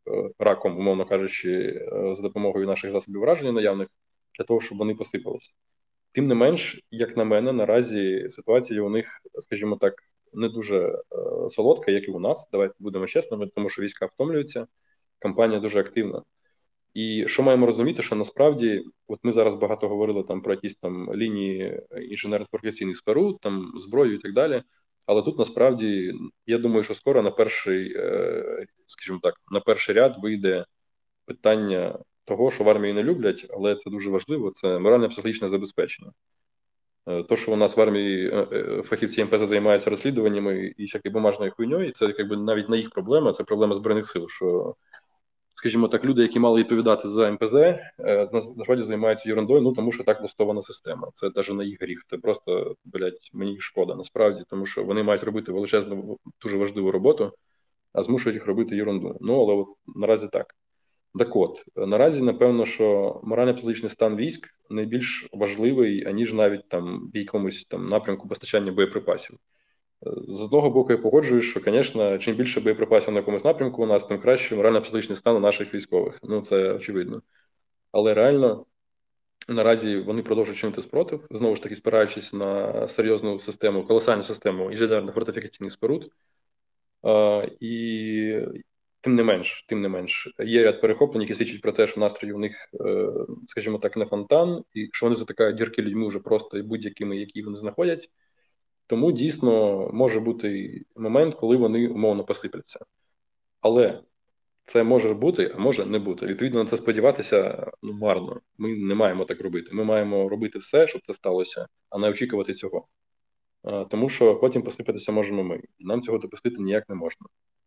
B: раком, умовно кажучи, за допомогою наших засобів враження наявних, для того, щоб вони посипалися. Тим не менш, як на мене, наразі ситуація у них, скажімо так, не дуже е, солодка, як і у нас. Давайте будемо чесними, тому що війська втомлюються, кампанія дуже активна. І що маємо розуміти, що насправді, от ми зараз багато говорили там про якісь там лінії інженерно-фортифікаційних споруд, там зброю і так далі. Але тут насправді, я думаю, що скоро на перший, е, скажімо так, на перший ряд вийде питання того, що в армії не люблять, але це дуже важливо, це морально-психологічне забезпечення. То, що у нас в армії фахівці ем пе зе займаються розслідуваннями і всякою бумажною хуйньою, це якби навіть не їх проблема, це проблема Збройних сил, що, скажімо так, люди, які мали відповідати за ем пе зе, насправді займаються ерундою, ну тому що так влаштована система. Це навіть не їх гріх, це просто, блядь, мені їх шкода, насправді, тому що вони мають робити величезну, дуже важливу роботу, а змушують їх робити ерунду. Ну, але от наразі так. Так от, наразі, напевно, що морально-психологічний стан військ найбільш важливий, аніж навіть там в якомусь там напрямку постачання боєприпасів. З одного боку, я погоджуюсь, що, звісно, чим більше боєприпасів на якомусь напрямку у нас, тим краще морально-психологічний стан у наших військових. Ну, це очевидно. Але реально, наразі вони продовжують чинити спротив, знову ж таки, спираючись на серйозну систему, колосальну систему інженерно-фортифікаційних споруд. Uh, і тим не менш, тим не менш, є ряд перехоплень, які свідчать про те, що настрій у них, uh, скажімо так, не фонтан, і що вони затикають дірки людьми вже просто і будь-якими, які вони знаходять. Тому дійсно може бути момент, коли вони умовно посипляться. Але це може бути, а може не бути. Відповідно, на це сподіватися ну, марно. Ми не маємо так робити. Ми маємо робити все, щоб це сталося, а не очікувати цього. Тому що потім посипатися можемо ми. Нам цього допустити ніяк не можна.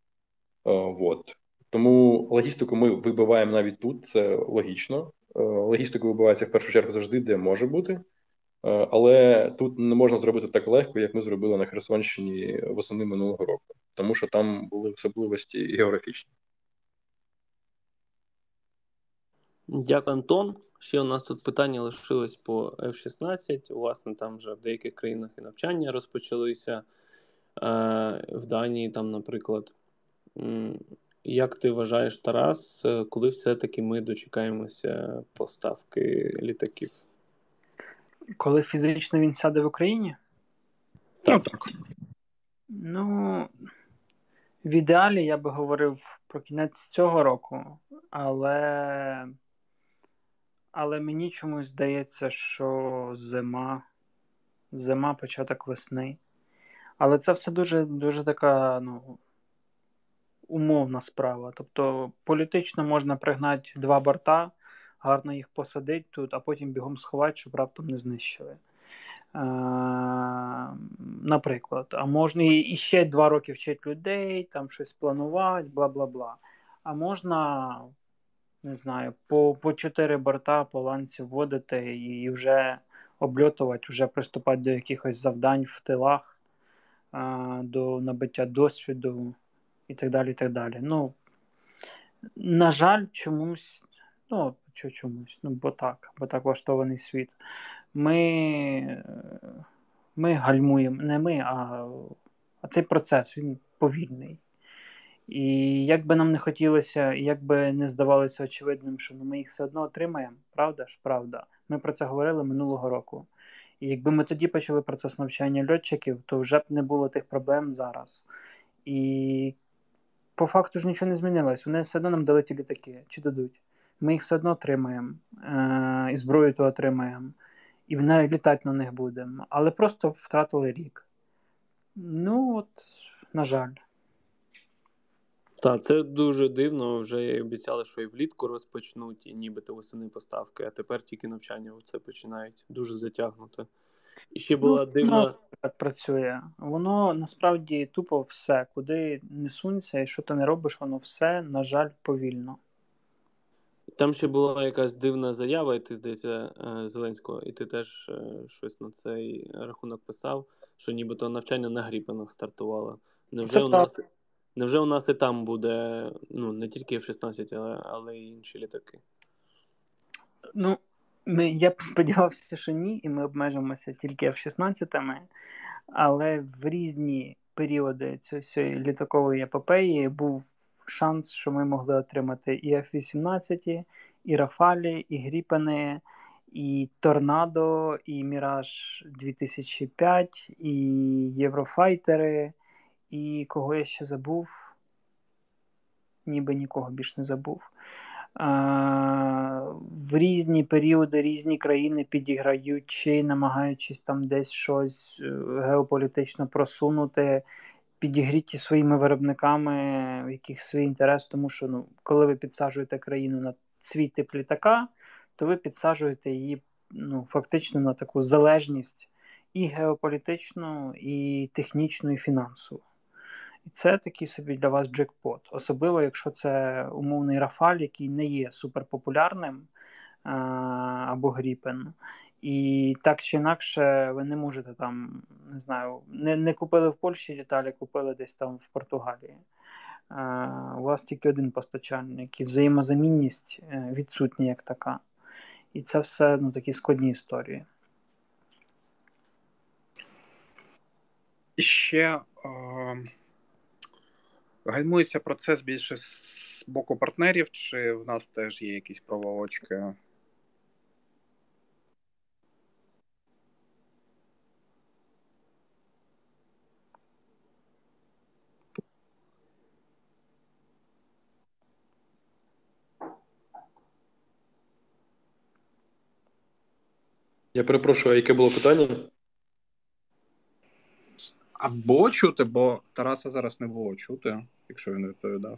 B: Вот. Тому логістику ми вибиваємо навіть тут, це логічно. Логістику вибивається в першу чергу завжди, де може бути. Але тут не можна зробити так легко, як ми зробили на Херсонщині восени минулого року. Тому що там були особливості географічні.
A: Дякую, Антон. Ще у нас тут питання лишилось по еф шістнадцять. Власне, там вже в деяких країнах і навчання розпочалися. В Данії, там, наприклад. Як ти вважаєш, Тарас, коли все-таки ми дочекаємося поставки літаків?
C: Коли фізично він сяде в Україні?
A: Так.
D: Ну, так.
C: Ну, в ідеалі я би говорив про кінець цього року, але... Але мені чомусь здається, що зима, зима, початок весни. Але це все дуже, дуже така, ну, умовна справа. Тобто політично можна пригнати два борта, гарно їх посадити тут, а потім бігом сховати, щоб раптом не знищили. Е, наприклад. А можна і ще два роки вчити людей, там щось планувати, бла-бла-бла. А можна... не знаю, по, по чотири борта по ланці вводити і вже обльотувати, вже приступати до якихось завдань в тилах, а, до набиття досвіду і так далі, і так далі. Ну, на жаль, чомусь, ну, що чомусь, ну, бо так, бо так влаштований світ. Ми, ми гальмуємо, не ми, а, а цей процес, він повільний. І як би нам не хотілося, як би не здавалося очевидним, що ми їх все одно отримаємо, правда ж? Правда. Ми про це говорили минулого року. І якби ми тоді почали процес навчання льотчиків, то вже б не було тих проблем зараз. І по факту ж нічого не змінилось. Вони все одно нам дали ті літаки. Чи дадуть? Ми їх все одно отримаємо. Е- і зброю то отримаємо. І навіть літати на них будемо. Але просто втратили рік. Ну от, на жаль.
A: Так, це дуже дивно. Вже обіцяли, що і влітку розпочнуть, і нібито восени поставки, а тепер тільки навчання оце починають дуже затягнути. І ще була
C: ну,
A: дивна...
C: Ну, так працює. Воно насправді тупо все. Куди не сунься і що ти не робиш, воно все, на жаль, повільно.
A: Там ще була якась дивна заява, і ти, здається, Зеленського, і ти теж щось на цей рахунок писав, що нібито навчання на Гріпенах стартувало. Невже у нас... Невже у нас і там буде, ну, не тільки еф шістнадцять, але, але й інші літаки?
C: Ну, ми, я б сподівався, що ні, і ми обмежимося тільки еф шістнадцять, але в різні періоди цієї літакової епопеї був шанс, що ми могли отримати і еф вісімнадцять, і Рафалі, і Гріпени, і Торнадо, і Міраж дві тисячі п'ять, і Єврофайтери, і кого я ще забув? Ніби нікого більш не забув. А, в різні періоди різні країни підіграючи, намагаючись там десь щось геополітично просунути, підігріті своїми виробниками, в яких свій інтерес, тому що ну, коли ви підсаджуєте країну на свій тип літака, то ви підсаджуєте її ну, фактично на таку залежність і геополітичну, і технічну, і фінансову. І це такий собі для вас джекпот. Особливо, якщо це умовний Рафаль, який не є суперпопулярним, а, або Гріпен. І так чи інакше ви не можете там, не знаю, не, не купили в Польщі деталі, купили десь там в Португалії. А, у вас тільки один постачальник, і взаємозамінність відсутня як така. І це все ну, такі складні історії.
D: І ще... Е... Гальмується процес більше з боку партнерів, чи в нас теж є якісь проволочки?
B: Я перепрошую, а яке було питання?
D: А було чути, бо Тараса зараз не було чути, якщо він відповідав.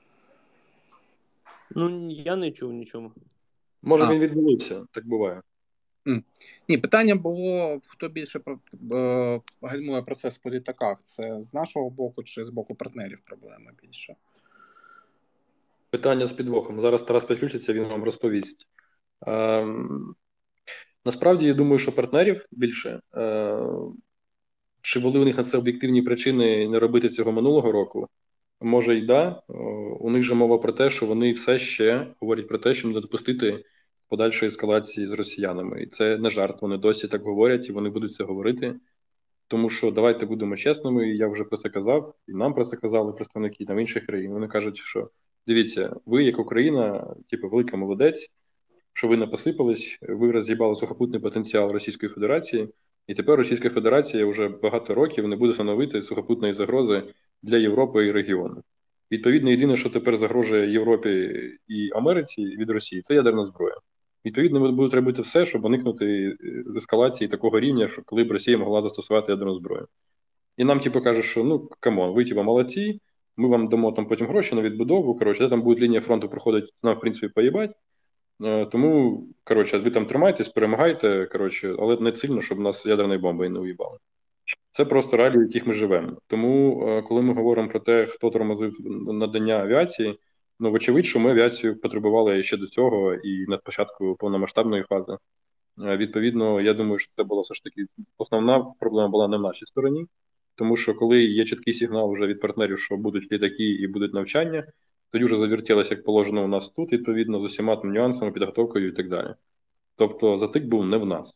A: Ну, я не чув нічого.
B: Може,
D: А.
B: він відвалився, так буває.
D: Mm. Ні, питання було, хто більше е, гальмує процес по літаках. Це з нашого боку чи з боку партнерів проблема більше?
B: Питання з підвохом. Зараз Тарас підключиться, він вам розповість. Е, насправді, я думаю, що партнерів більше. Е, чи були у них на це об'єктивні причини не робити цього минулого року? Може й да. У них же мова про те, що вони все ще говорять про те, що не допустити подальшої ескалації з росіянами. І це не жарт, вони досі так говорять, і вони будуть це говорити. Тому що давайте будемо чесними, я вже про це казав, і нам про це казали представники там інших країн. Вони кажуть, що дивіться, ви як Україна, типу, велика молодець, що ви не посипались, ви роз'їбали сухопутний потенціал Російської Федерації, і тепер Російська Федерація вже багато років не буде становити сухопутної загрози для Європи і регіону. Відповідно, єдине, що тепер загрожує Європі і Америці від Росії, це ядерна зброя. Відповідно, ми будуть робити все, щоб уникнути ескалації такого рівня, що коли б Росія могла застосувати ядерну зброю. І нам, типу, кажуть, що ну, камон, ви, типу, молодці, ми вам дамо там потім гроші на відбудову, коротше, де там буде лінія фронту проходить, нам, в принципі, поїбать. Тому, коротше, ви там тримайтесь, перемагайте, коротше, але не сильно, щоб нас ядерною бомбою не уїбали. Це просто реалії, в яких ми живемо. Тому, коли ми говоримо про те, хто тормозив надання авіації, ну, вочевидь, що ми авіацію потребували ще до цього і на початку повномасштабної фази. Відповідно, я думаю, що це було все ж таки основна проблема була не в нашій стороні, тому що коли є чіткий сигнал вже від партнерів, що будуть літаки і будуть навчання, тоді вже завертілося, як положено у нас тут, відповідно, з усіма там нюансами, підготовкою і так далі. Тобто затик був не в нас.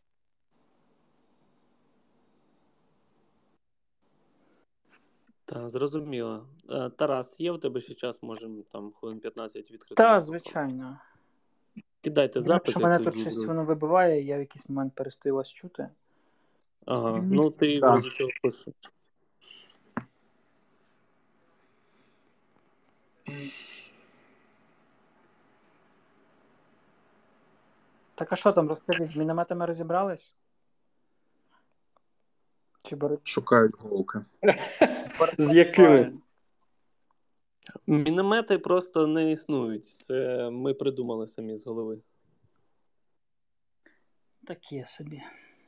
A: Так, зрозуміло. Тарас, є у тебе ще час, можемо там хвилин п'ятнадцять відкрити?
C: Так, звичайно.
A: Кидайте запити.
C: Якщо мене тут щось воно вибиває, я в якийсь момент перестаю вас чути.
A: Ага, ну ти
D: да.
A: в разі чого пишеш.
C: Так а що там, розкажіть, з мінометами розібрались? Чи беруть?
D: Шукають голки.
B: З якими?
A: Міномети просто не існують. Це ми придумали самі з голови.
C: Таке собі.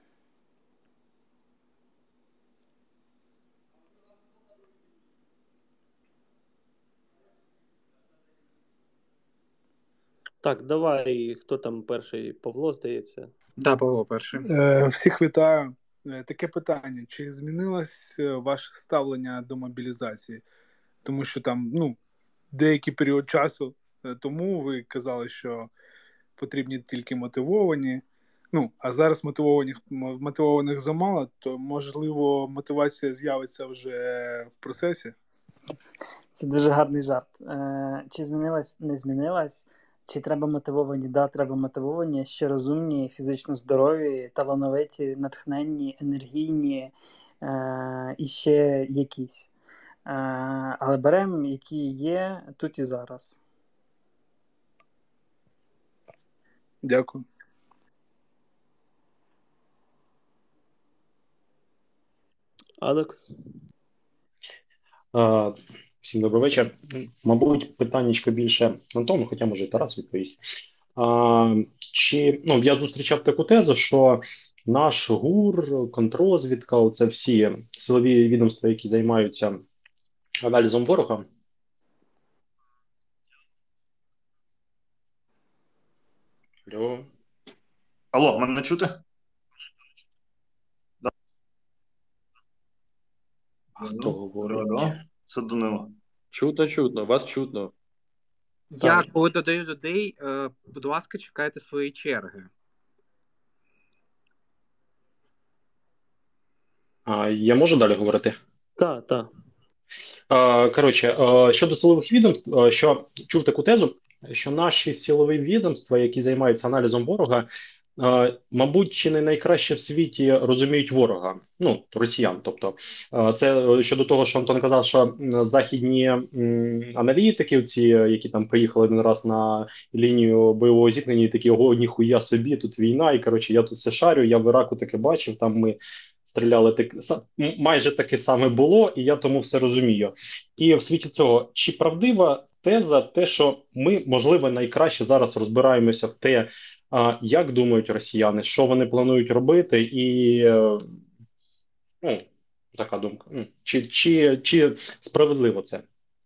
A: Так, давай, хто там перший? Павло, здається? Так,
D: да, Павло перший.
E: Е, всіх вітаю. Е, таке питання. Чи змінилось ваше ставлення до мобілізації? Тому що там, ну, деякий період часу тому ви казали, що потрібні тільки мотивовані. Ну, а зараз мотивованих, мотивованих замало, то, можливо, мотивація з'явиться вже в процесі?
C: Це дуже гарний жарт. Е, Чи змінилась, не змінилась? Чи треба мотивовані? Да, треба мотивовані, ще розумні, фізично здорові, талановиті, натхненні, енергійні е, і ще якісь. Е, але беремо, які є тут і зараз.
E: Дякую.
A: Алекс?
F: А, Всім добрий вечір. Мабуть, питаннячко більше Антону, хоча може і Тарас відповість. А, чи, ну, я зустрічав таку тезу, що наш ГУР, контррозвідка, оце всі силові відомства, які займаються аналізом ворога. Алло.
G: Алло, мене чути?
F: Хто говорить?
G: Да, це Данило.
B: Чутно, чутно, вас чутно.
D: Я коли додаю людей, е, будь ласка, чекайте своєї черги.
F: А, я можу далі говорити?
A: Так, так.
F: А, коротше, а, щодо силових відомств, а, що чув таку тезу, що наші силові відомства, які займаються аналізом ворога, а, мабуть, чи не найкраще в світі розуміють ворога, ну, росіян. Тобто, а, це щодо того, що Антон казав, що м, західні м, аналітики, ці, які там приїхали один раз на лінію бойового зіткнення, і такі, ого, ніхуя собі, тут війна, і коротше, я тут все шарю, я в Іраку таке бачив, там ми стріляли так са- м- майже таке саме було, і я тому все розумію. І в світі цього, чи правдива теза, те, що ми, можливо, найкраще зараз розбираємося в те, а, як думають росіяни, що вони планують робити, і е, ну, така думка. М, Чи, чи, чи справедливо це?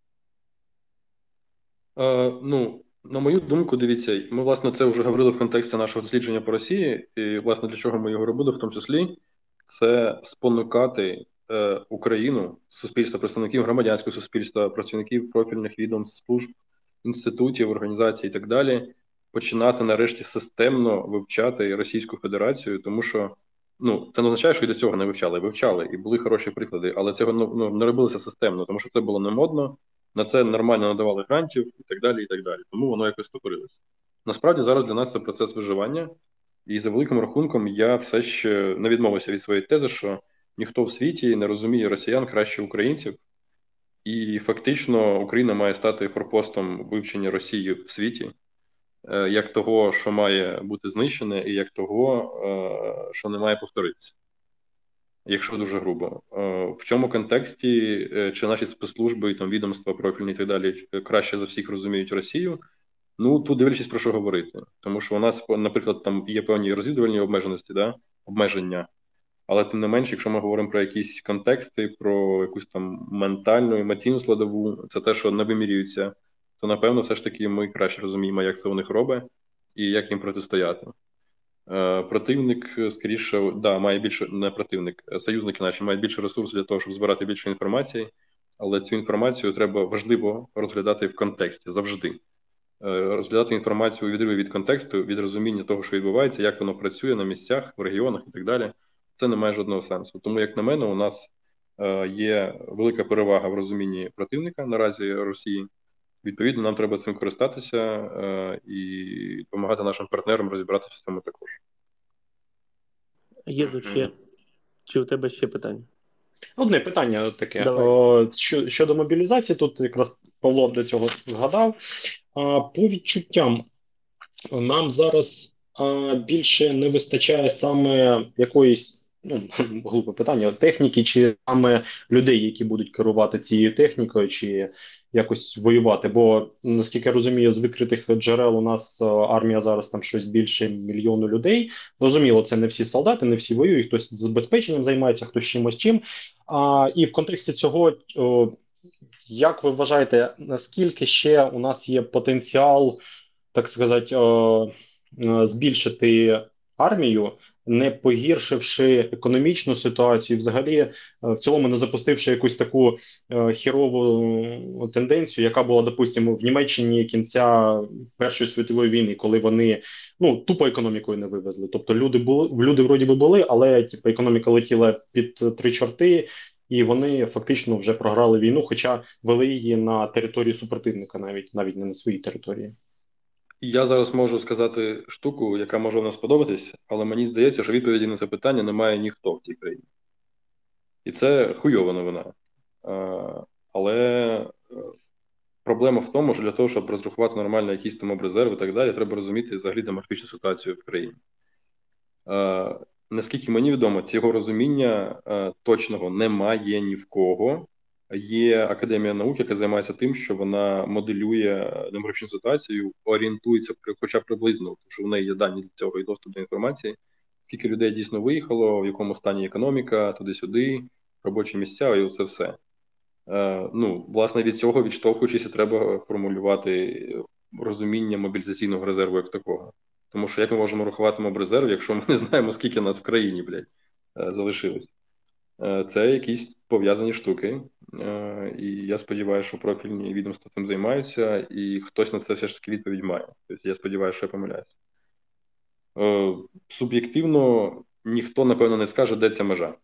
B: Е, ну, на мою думку, дивіться, ми, власне, це вже говорили в контексті нашого дослідження по Росії, і, власне, для чого ми його робили, в тому числі, це спонукати е, Україну, суспільство, представників громадянського суспільства, працівників профільних відомств, служб, інститутів, організацій і так далі, починати нарешті системно вивчати Російську Федерацію, тому що ну, це не означає, що і до цього не вивчали, вивчали, і були хороші приклади, але цього ну, ну, не робилося системно, тому що це було не модно, на це нормально надавали грантів і так далі, і так далі. Тому воно якось стопорилось. Насправді зараз для нас це процес виживання, і за великим рахунком я все ще не відмовився від своєї тези, що ніхто в світі не розуміє росіян краще українців, і фактично Україна має стати форпостом вивчення Росії в світі, е, як того, що має бути знищене, і як того, е, що не має повторитися. Якщо дуже грубо. Е, В чому контексті, е, чи наші спецслужби і там відомства профільні і так далі е, краще за всіх розуміють Росію? Ну, тут дивлячись про що говорити. Тому що у нас, наприклад, там є певні розвідувальні обмеженості, да? обмеження. Але тим не менш, якщо ми говоримо про якісь контексти, про якусь там ментальну, емоційну складову, це те, що не вимірюється, то напевно все ж таки ми краще розуміємо, як це у них робить і як їм протистояти. Е, Противник, скоріше, да, має більше, не противник, союзники наші мають більше ресурсів для того, щоб збирати більше інформації, але цю інформацію треба важливо розглядати в контексті завжди. Е, Розглядати інформацію у відриві від контексту, від розуміння того, що відбувається, як воно працює на місцях, в регіонах і так далі. Це не має жодного сенсу. Тому, як на мене, у нас е, є велика перевага в розумінні противника наразі Росії. Відповідно, нам треба цим користатися е, і допомагати нашим партнерам розібратися в цьому також.
A: Є тут ще. Чи у тебе ще питання?
F: Одне питання таке.
A: Давай.
F: О, що, щодо мобілізації, тут якраз Павло до цього згадав. А, по відчуттям, нам зараз а, більше не вистачає саме якоїсь, ну, глупе питання, техніки, чи саме людей, які будуть керувати цією технікою, чи якось воювати. Бо, наскільки я розумію, з викритих джерел у нас а, армія зараз там щось більше мільйону людей. Розуміло, це не всі солдати, не всі воюють, хтось з забезпеченням займається, хтось чимось чим. А, і в контексті цього, о, як ви вважаєте, наскільки ще у нас є потенціал, так сказати, о, е, збільшити армію, не погіршивши економічну ситуацію, взагалі, е, в цілому не запустивши якусь таку е, хірову тенденцію, яка була, допустимо, в Німеччині кінця Першої світової війни, коли вони ну тупо економікою не вивезли. Тобто люди були люди вроді би були, але типу, економіка летіла під три чорти. і вони фактично вже програли війну, хоча вели її на території супротивника, навіть навіть не на своїй території.
B: Я зараз можу сказати штуку, яка може вам сподобатись, але мені здається, що відповіді на це питання не має ніхто в цій країні. І це хуйова новина. А, але проблема в тому, що для того, щоб розрахувати нормально якісь там обрезерви і так далі, треба розуміти взагалі демографічну ситуацію в країні. А, наскільки мені відомо, цього розуміння а, точного немає ні в кого. Є Академія наук, яка займається тим, що вона моделює демографічну ситуацію, орієнтується хоча б приблизно, тому що в неї є дані для цього і доступ до інформації, скільки людей дійсно виїхало, в якому стані економіка, туди-сюди, робочі місця і оце все. Е, ну, власне, від цього відштовхуючись, треба формулювати розуміння мобілізаційного резерву як такого. Тому що як ми можемо рахувати мобрезерв, якщо ми не знаємо, скільки нас в країні, блядь, е, залишилось. Це якісь пов'язані штуки, і я сподіваюся, що профільні відомства цим займаються, і хтось на це все ж таки відповідь має. Тобто я сподіваюся, що я помиляюся. Суб'єктивно ніхто, напевно, не скаже, де ця межа.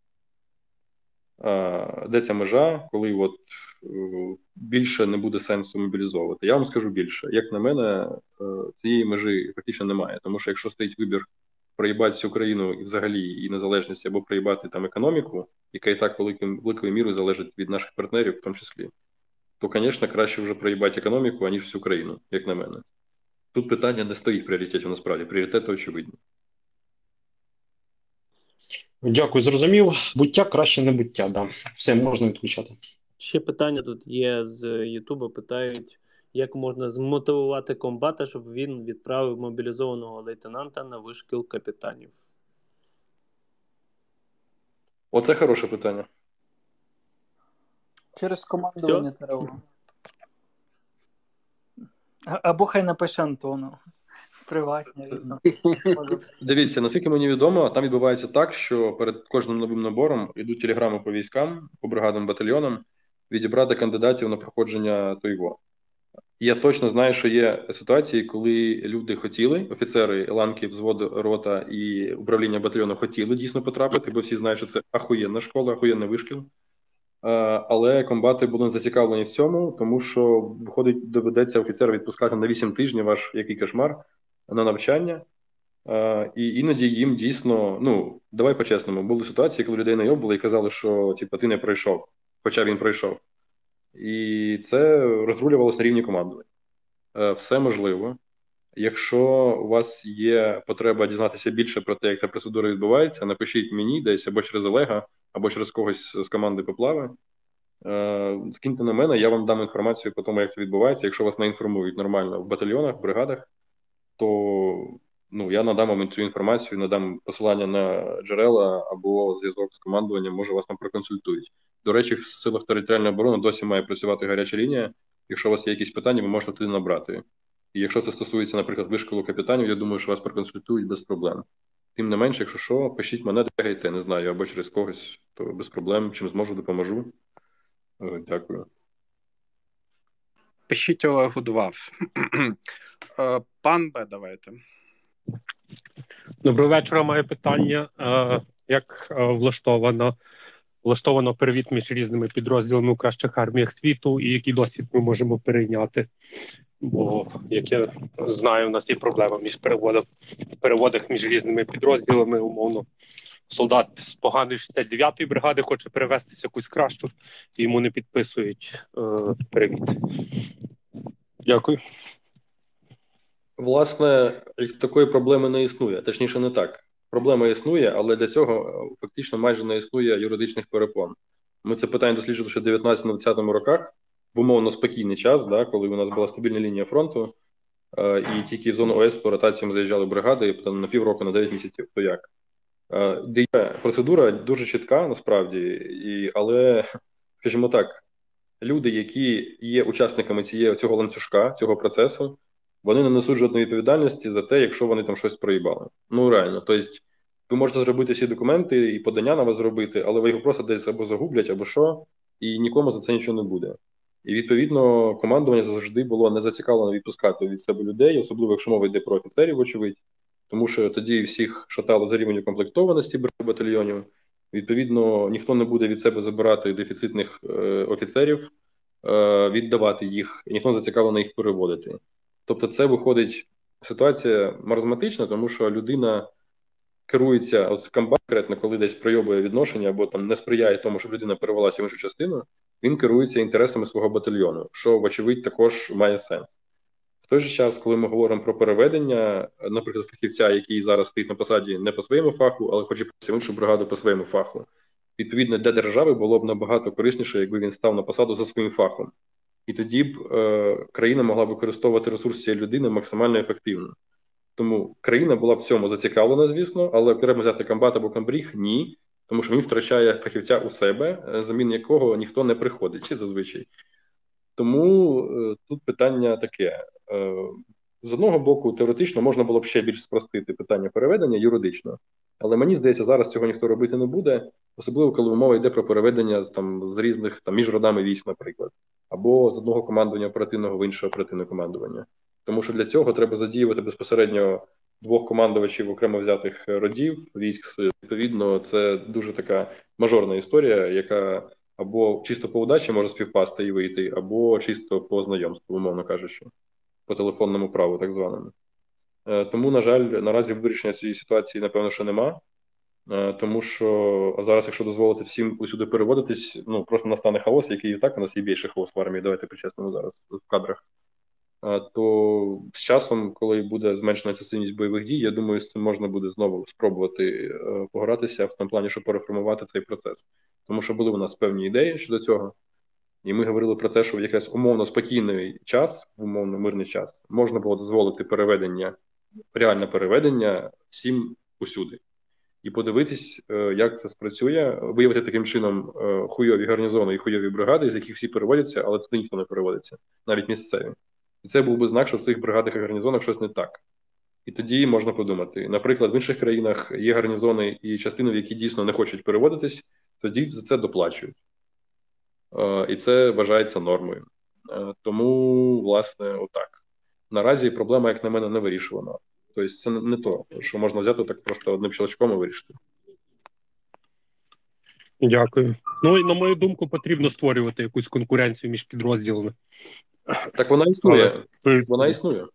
B: Де ця межа, коли от більше не буде сенсу мобілізовувати. Я вам скажу більше. Як на мене, цієї межі фактично немає. Тому що якщо стоїть вибір проїбати всю країну і взагалі і незалежність, або проїбати там економіку, яка і так великою, великою мірою залежить від наших партнерів в тому числі, то, звісно, краще вже проїбати економіку, аніж всю країну, як на мене. Тут питання не стоїть пріоритетів, насправді. Пріоритети очевидні.
F: Дякую, зрозумів. Буття краще не буття, да. Все, можна відключати.
A: Ще питання тут є з Ютубу, питають, як можна змотивувати комбата, щоб він відправив мобілізованого лейтенанта на вишкіл капітанів?
B: Оце хороше питання.
C: Через командування треба. Або хай напише Антону. Приватні.
B: Дивіться, наскільки мені відомо, там відбувається так, що перед кожним новим набором йдуть телеграми по військам, по бригадам, батальйонам, відібрати кандидатів на проходження ТОЙВО. Я точно знаю, що є ситуації, коли люди хотіли, офіцери ланки, взвод, рота і управління батальйону хотіли дійсно потрапити, бо всі знають, що це ахуєнна школа, ахуєнний вишкіл. Але комбати були зацікавлені в цьому, тому що, виходить, доведеться офіцера відпускати на вісім тижнів, аж який кошмар, на навчання. І іноді їм дійсно, ну, давай по-чесному, були ситуації, коли людей найобили і казали, що типу, ти не пройшов, хоча він пройшов. І це розрулювалося на рівні командування. Все можливо. Якщо у вас є потреба дізнатися більше про те, як ця процедура відбувається, напишіть мені десь або через Олега, або через когось з команди Поплави. Скиньте на мене, я вам дам інформацію по тому, як це відбувається. Якщо вас не інформують нормально в батальйонах, в бригадах, то ну, я надам вам цю інформацію, надам посилання на джерела або зв'язок з командуванням, може вас там проконсультують. До речі, в силах територіальної оборони досі має працювати гаряча лінія. Якщо у вас є якісь питання, ви можете туди набрати. І якщо це стосується, наприклад, вишколу капітанів, я думаю, що вас проконсультують без проблем. Тим не менше, якщо що, пишіть мене, дегайте, не знаю, або через когось, то без проблем, чим зможу, допоможу. Дякую.
D: Пишіть Олегу два. Пан Б, давайте.
H: Доброго вечора, маю питання. Як влаштовано, влаштовано перевід між різними підрозділами у кращих арміях світу і який досвід ми можемо перейняти? Бо, як я знаю, у нас є проблема між переводом, переводах між різними підрозділами, умовно. Солдат з поганої шістдесят дев'ятої бригади хоче перевестися в якусь кращу, і йому не підписують е, перевід. Дякую.
B: Власне, такої проблеми не існує. Точніше, не так. Проблема існує, але для цього фактично майже не існує юридичних перепон. Ми це питання досліджували ще в дев'ятнадцятому-двадцятому роках, в умовно спокійний час, да, коли у нас була стабільна лінія фронту, е, і тільки в зону ОС по ротаціям заїжджали бригади, і потім на півроку, на дев'ять місяців, то як. Е, де є процедура дуже чітка, насправді, і, але, скажімо так, люди, які є учасниками цієї, цього ланцюжка, цього процесу, вони не несуть жодної відповідальності за те, якщо вони там щось проїбали. Ну, реально. Тобто, ви можете зробити всі документи і подання на вас зробити, але ви його просто десь або загублять, або що, і нікому за це нічого не буде. І, відповідно, командування завжди було не зацікавлено відпускати від себе людей, особливо, якщо мова йде про офіцерів, очевидь, тому що тоді всіх шатало за рівень укомплектованості батальйонів, Відповідно, ніхто не буде від себе забирати дефіцитних е, офіцерів, е, віддавати їх, і ніхто не зацікавлений їх переводити. Тобто це виходить ситуація маразматична, тому що людина керується, от комбат конкретно, коли десь пройобує відношення або там не сприяє тому, щоб людина перевелася в іншу частину, він керується інтересами свого батальйону, що, вочевидь, також має сенс. В той же час, коли ми говоримо про переведення, наприклад, фахівця, який зараз стоїть на посаді не по своєму фаху, але хоче в іншу бригаду по своєму фаху, відповідно, для держави було б набагато корисніше, якби він став на посаду за своїм фахом. І тоді б е, країна могла використовувати ресурс цієї людини максимально ефективно. Тому країна була в цьому зацікавлена, звісно, але окремо взяти комбат або комбріг – ні, тому що він втрачає фахівця у себе, замін якого ніхто не приходить, чи зазвичай. Тому е, тут питання таке. Е, з одного боку, теоретично можна було б ще більш спростити питання переведення юридично, але мені здається, зараз цього ніхто робити не буде, особливо коли мова йде про переведення з, там, з різних, там, між родами військ, наприклад, або з одного командування оперативного в інше оперативне командування. Тому що для цього треба задіювати безпосередньо двох командувачів окремо взятих родів, військ. Відповідно, це дуже така мажорна історія, яка або чисто по удачі може співпасти і вийти, або чисто по знайомству, умовно кажучи, по телефонному праву так званому. Тому, на жаль, наразі вирішення цієї ситуації, напевно, що нема. Тому що зараз, якщо дозволити всім усюди переводитись, ну, просто настане хаос, який і так у нас є більше хаос в армії, давайте по-чесному зараз в кадрах. То з часом, коли буде зменшена інтенсивність бойових дій, я думаю, з цим можна буде знову спробувати погратися в тому плані, щоб переформувати цей процес. Тому що були у нас певні ідеї щодо цього, і ми говорили про те, що в якраз умовно спокійний час, умовно мирний час, можна було дозволити переведення, реальне переведення всім усюди. І подивитись, як це спрацює, виявити таким чином хуйові гарнізони і хуйові бригади, з яких всі переводяться, але туди ніхто не переводиться, навіть місцеві. І це був би знак, що в цих бригадах і гарнізонах щось не так. І тоді можна подумати. Наприклад, в інших країнах є гарнізони і частини, в які дійсно не хочуть переводитись, тоді за це доплачують. І це вважається нормою. Тому, власне, отак. Наразі проблема, як на мене, не вирішувана. Тобто це не то, що можна взяти так просто одним щелчком і вирішити.
H: Дякую. Ну, і на мою думку, потрібно створювати якусь конкуренцію між підрозділами.
B: Так вона існує. Але... Вона існує.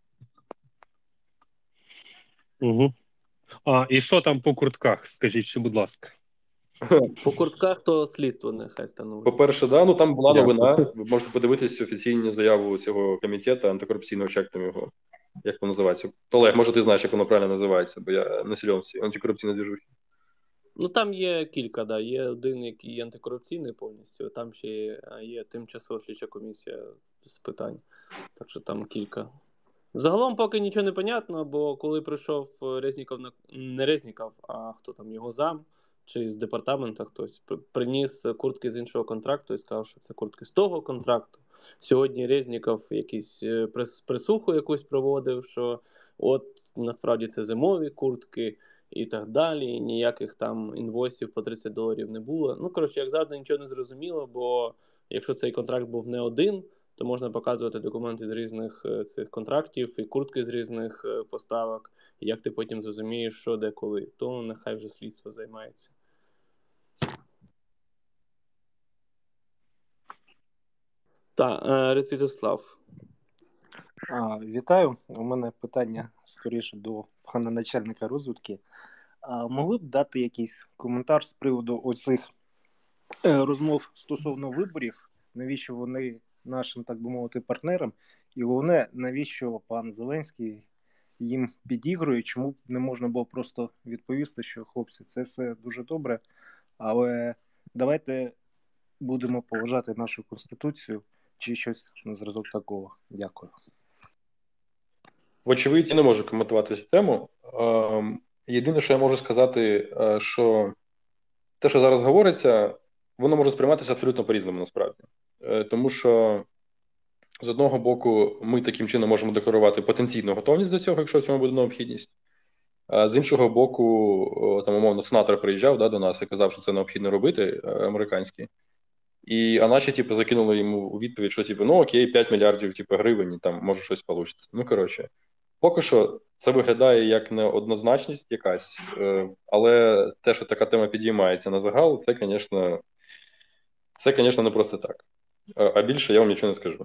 H: Угу. А, і що там по куртках? Скажіть, ще, будь ласка.
A: По куртках то слідство нехай становить.
B: По-перше, да, ну там була новина. Ви можете подивитися офіційну заяву цього комітету антикорупційного, як там його, як воно називається. Олег, може ти знаєш, як воно правильно називається, бо я не силен всі антикорупційні движухи.
A: Ну там є кілька, да. Є один, який антикорупційний повністю, там ще є, є тимчасова слідча комісія з питань. Так що там кілька. Загалом поки нічого не понятно, бо коли прийшов Резніков, на не Резніков, а хто там, його зам, чи з департаменту хтось, приніс куртки з іншого контракту і сказав, що це куртки з того контракту. Сьогодні Резніков якийсь присуху якусь проводив, що от насправді це зимові куртки і так далі, ніяких там інвойсів по тридцять доларів не було. Ну, коротше, як завжди, нічого не зрозуміло, бо якщо цей контракт був не один, то можна показувати документи з різних цих контрактів і куртки з різних поставок. І як ти потім зрозумієш, що де коли. То нехай вже слідство займається. Так, Ретвітослав.
I: А, вітаю. У мене питання скоріше до пана начальника розвідки. А, могли б дати якийсь коментар з приводу оцих е, розмов стосовно виборів? Навіщо вони нашим, так би мовити, партнерам? І головне, навіщо пан Зеленський їм підігрує? Чому не можна було просто відповісти, що хлопці, це все дуже добре, але давайте будемо поважати нашу Конституцію чи щось на зразок такого. Дякую.
B: Вочевидь, я не можу коментувати цю тему. Єдине, що я можу сказати, що те, що зараз говориться, воно може сприйматися абсолютно по-різному, насправді. Тому що, з одного боку, ми таким чином можемо декларувати потенційну готовність до цього, якщо в цьому буде необхідність. А з іншого боку, там, умовно, сенатор приїжджав, да, до нас і казав, що це необхідно робити, американські. І, а наші, типу, закинули йому у відповідь, що, типу, ну окей, п'ять мільярдів, типу, гривень, там, може щось вийде. Ну, коротше. Поки що це виглядає як неоднозначність якась, е, але те, що така тема підіймається на загал, це, звісно, це, звісно, не просто так. Е, А більше я вам нічого не скажу.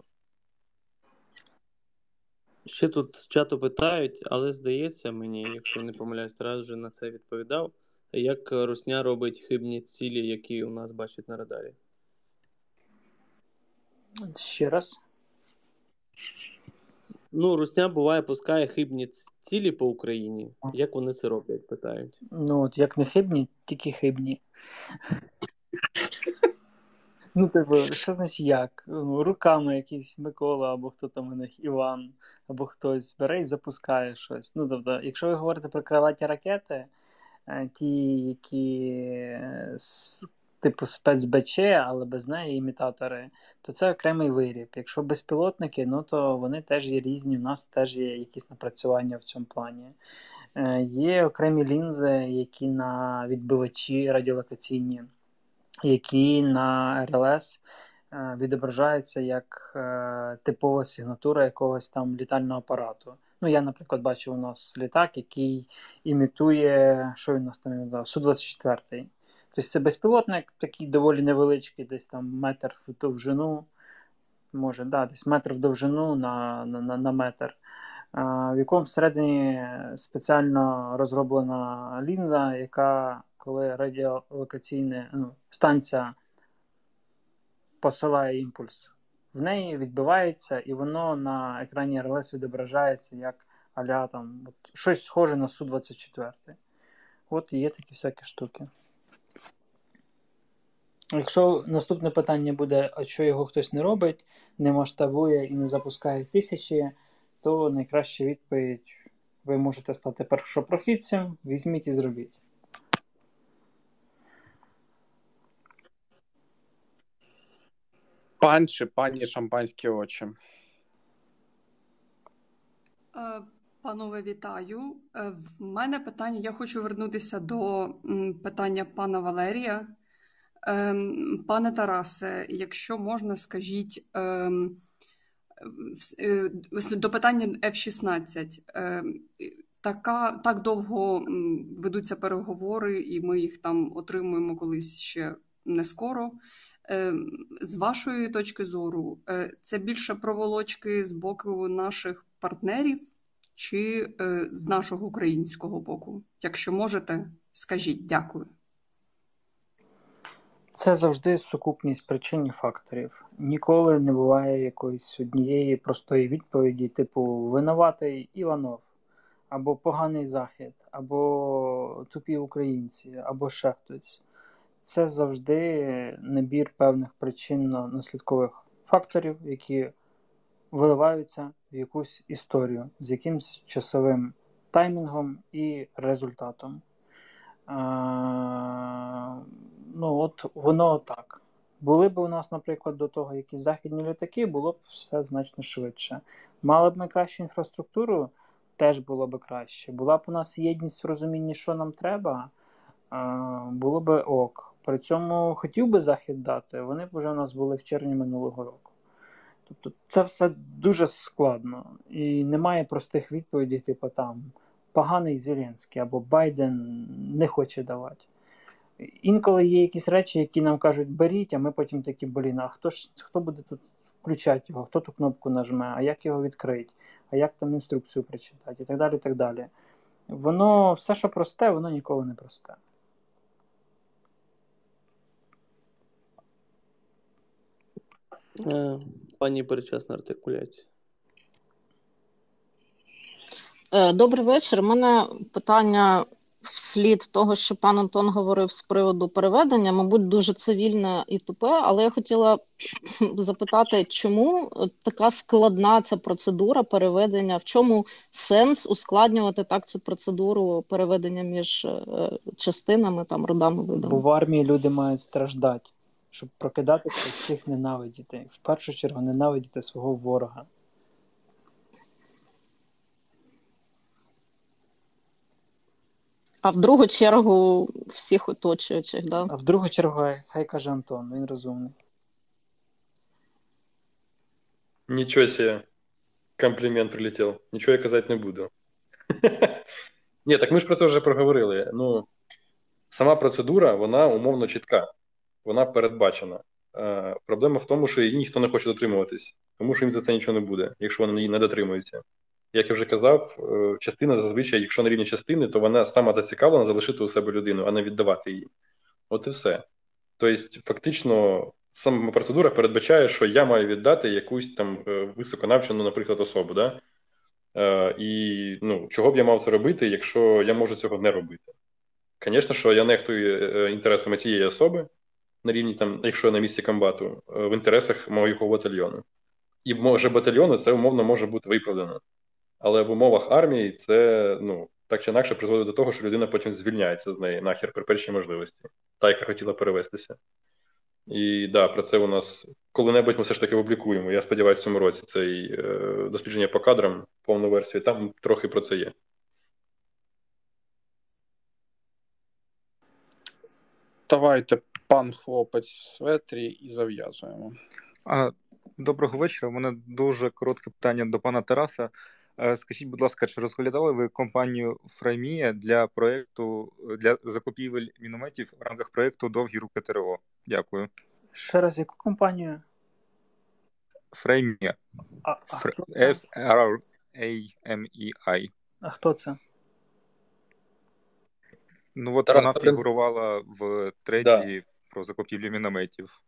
A: Ще тут з чату питають, але здається мені, якщо не помиляюсь, Тарас вже на це відповідав, як Русня робить хибні цілі, які у нас бачать на радарі.
C: Ще раз.
A: Ну, Русня буває пускає хибні цілі по Україні. Як вони це роблять, питають.
C: Ну, от як не хибні, тільки хибні. Ну, типу, що значить як? Ну, руками якийсь Микола, або хто там у них, Іван, або хтось бере і запускає щось. Ну, тобто, якщо ви говорите про крилаті ракети, е, ті, які е, с- типу спецБЧ, але без неї імітатори, то це окремий виріб. Якщо безпілотники, ну то вони теж є різні, у нас теж є якісь напрацювання в цьому плані. Е, Є окремі лінзи, які на відбивачі радіолокаційні, які на ар ел ес е, відображаються як е, типова сигнатура якогось там літального апарату. Ну, я, наприклад, бачив у нас літак, який імітує, що він у нас там імітував? Су двадцять чотири. Тобто це безпілотник, такий доволі невеличкий, десь там метр в довжину, може, да, десь метр в довжину на, на, на, на метр, а, в якому всередині спеціально розроблена лінза, яка, коли радіолокаційна ну, станція посилає імпульс, в неї відбивається, і воно на екрані ар ел ес відображається як а-ля там, от, щось схоже на Су двадцять чотири. От і є такі всякі штуки. Якщо наступне питання буде, а що його хтось не робить, не масштабує і не запускає тисячі, то найкраща відповідь: ви можете стати першопрохідцем, візьміть і зробіть.
D: Пан чи пані шампанські очі.
J: Е, Панове, вітаю. Е, В мене питання, я хочу вернутися до м, питання пана Валерія. Ем, Пане Тарасе, якщо можна, скажіть ем, вс- е, вс- до питання еф шістнадцять. Ем, Така, так довго м, ведуться переговори, і ми їх там отримуємо колись ще не скоро. Ем, З вашої точки зору, е, це більше проволочки з боку наших партнерів чи е, з нашого українського боку? Якщо можете, скажіть. Дякую.
C: Це завжди сукупність причин і факторів. Ніколи не буває якоїсь однієї простої відповіді, типу винуватий Іванов, або поганий Захід, або тупі українці, або ще хтось. Це завжди набір певних причинно-наслідкових факторів, які виливаються в якусь історію з якимсь часовим таймінгом і результатом. А, ну, от воно так. Були б у нас, наприклад, до того якісь західні літаки, було б все значно швидше. Мали б ми кращу інфраструктуру, теж було б краще. Була б у нас єдність в розумінні, що нам треба, а, було б ок. При цьому хотів би Захід дати, вони б вже у нас були в червні минулого року. Тобто це все дуже складно. І немає простих відповідей, типу там поганий Зеленський або Байден не хоче давати. Інколи є якісь речі, які нам кажуть беріть, а ми потім такі, блін, а хто ж хто буде тут включати його, хто ту кнопку нажме, а як його відкрити, а як там інструкцію прочитати, і так далі, і так далі. Воно, все, що просте, воно ніколи не просте.
A: Е, Пані передчасна артикуляція.
K: Е, Добрий вечір. У мене питання вслід того, що пан Антон говорив з приводу переведення, мабуть, дуже цивільне і тупе, але я хотіла запитати, чому така складна ця процедура переведення, в чому сенс ускладнювати так цю процедуру переведення між е, частинами, там, родами, видами?
C: Бо в армії люди мають страждати, щоб прокидатися, всіх ненавидіти. В першу чергу ненавидіти свого ворога.
K: А в другу чергу всіх оточуючих, да?
C: А в другу чергу, хай- хай каже Антон, він розумний.
B: Нічого себе. Комплімент прилетів. Нічого я казати не буду. Ні, так ми ж про це вже проговорили. Ну, сама процедура, вона умовно чітка. Вона передбачена. Е, проблема в тому, що її ніхто не хоче дотримуватись, тому що їм за це нічого не буде, якщо вони її не дотримуються. Як я вже казав, е, частина зазвичай, якщо на рівні частини, то вона сама зацікавлена залишити у себе людину, а не віддавати її. От і все. Тобто, фактично, сама процедура передбачає, що я маю віддати якусь там е, високонавчену, наприклад, особу. Да? Е, і ну, чого б я мав це робити, якщо я можу цього не робити? Звісно, що я нехтую е, інтересами цієї особи, на рівні, там, якщо я на місці комбату, в інтересах моєго батальйону. І в може батальйону це умовно може бути виправдано. Але в умовах армії це, ну, так чи інакше призводить до того, що людина потім звільняється з неї нахер при першій можливості. Та, яка хотіла перевестися. І да, про це у нас коли-небудь ми все ж таки опублікуємо. Я сподіваюся, в цьому році цей е, дослідження по кадрам, повну версію, там трохи про це є.
D: Давайте, пан хлопець в светрі, і зав'язуємо.
L: А, Доброго вечора. У мене дуже коротке питання до пана Тараса. Е, Скажіть, будь ласка, чи розглядали ви компанію Фраймія для проекту для закупівель мінометів в рамках проекту Довгі руки ТРО? Дякую.
C: Ще раз, яку компанію?
L: Фраймія.
C: А, а,
L: Фр...
C: хто це?
L: F R A M E I.
C: А хто це?
L: Ну от
B: Тарас,
L: вона
B: та-
L: фігурувала в треті
B: Да.
L: про закупівлю мінометів.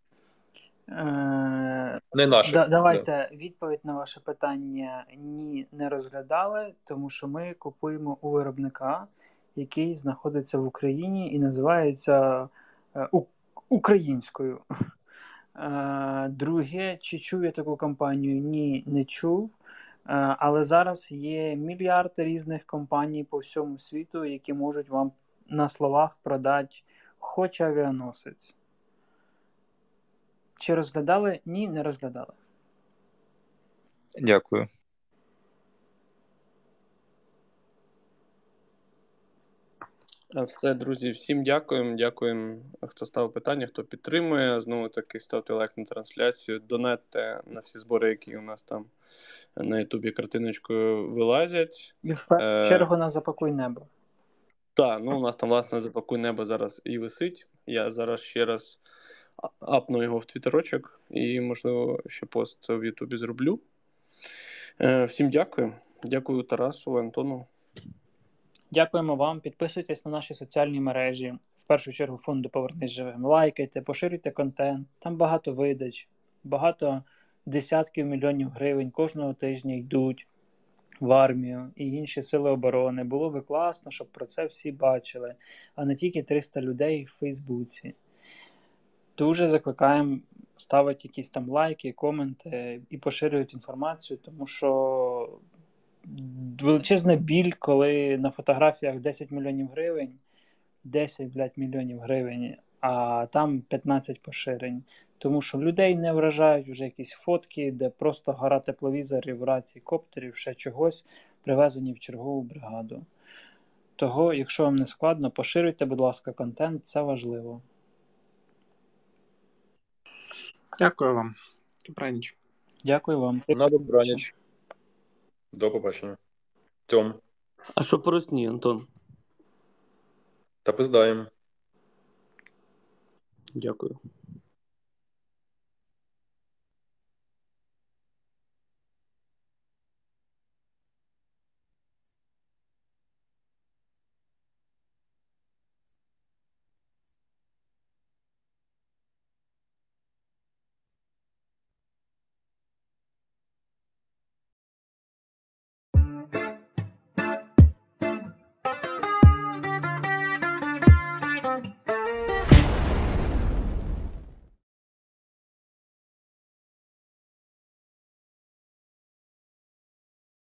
C: Е,
B: Не наших.
C: да,
B: Да.
C: давайте відповідь на ваше питання ні, не розглядали, тому що ми купуємо у виробника, який знаходиться в Україні і називається е, у- українською. Е, Друге, чи чув я таку компанію? Ні, не чув. Е, Але зараз є мільярди різних компаній по всьому світу, які можуть вам на словах продати хоч авіаносець. Чи розглядали? Ні, не розглядали.
L: Дякую.
A: Е, Все, друзі, всім дякуємо. Дякуємо, хто ставив питання, хто підтримує. Знову таки, ставте лайк на трансляцію, донатьте на всі збори, які у нас там на Ютубі картиночкою вилазять.
C: І в першу
A: Е,
C: чергу на «Запакуй небо».
A: Так, ну у нас там, власне, «Запакуй небо» зараз і висить. Я зараз ще раз а- апну його в твіттерочок і, можливо, ще пост в Ютубі зроблю. Е, Всім дякую. Дякую Тарасу, Антону.
C: Дякуємо вам. Підписуйтесь на наші соціальні мережі. В першу чергу фонду «Повернись живим». Лайкайте, поширюйте контент. Там багато видач, багато десятків мільйонів гривень кожного тижня йдуть в армію і інші сили оборони. Було би класно, щоб про це всі бачили, а не тільки триста людей в Фейсбуці. Дуже закликаємо ставити якісь там лайки, коменти і поширювати інформацію, тому що величезна біль, коли на фотографіях десять мільйонів гривень, десять, блядь, мільйонів гривень, а там п'ятнадцять поширень. Тому що людей не вражають вже якісь фотки, де просто гора тепловізорів, рацій, коптерів, ще чогось, привезені в чергову бригаду. Того, якщо вам не складно, поширюйте, будь ласка, контент, це важливо.
D: Дякую вам. Добраніч.
C: Дякую вам.
B: На добраніч. До побачення. Тьом.
A: А що по Росні, Антон?
B: Та пиздаємо.
A: Дякую.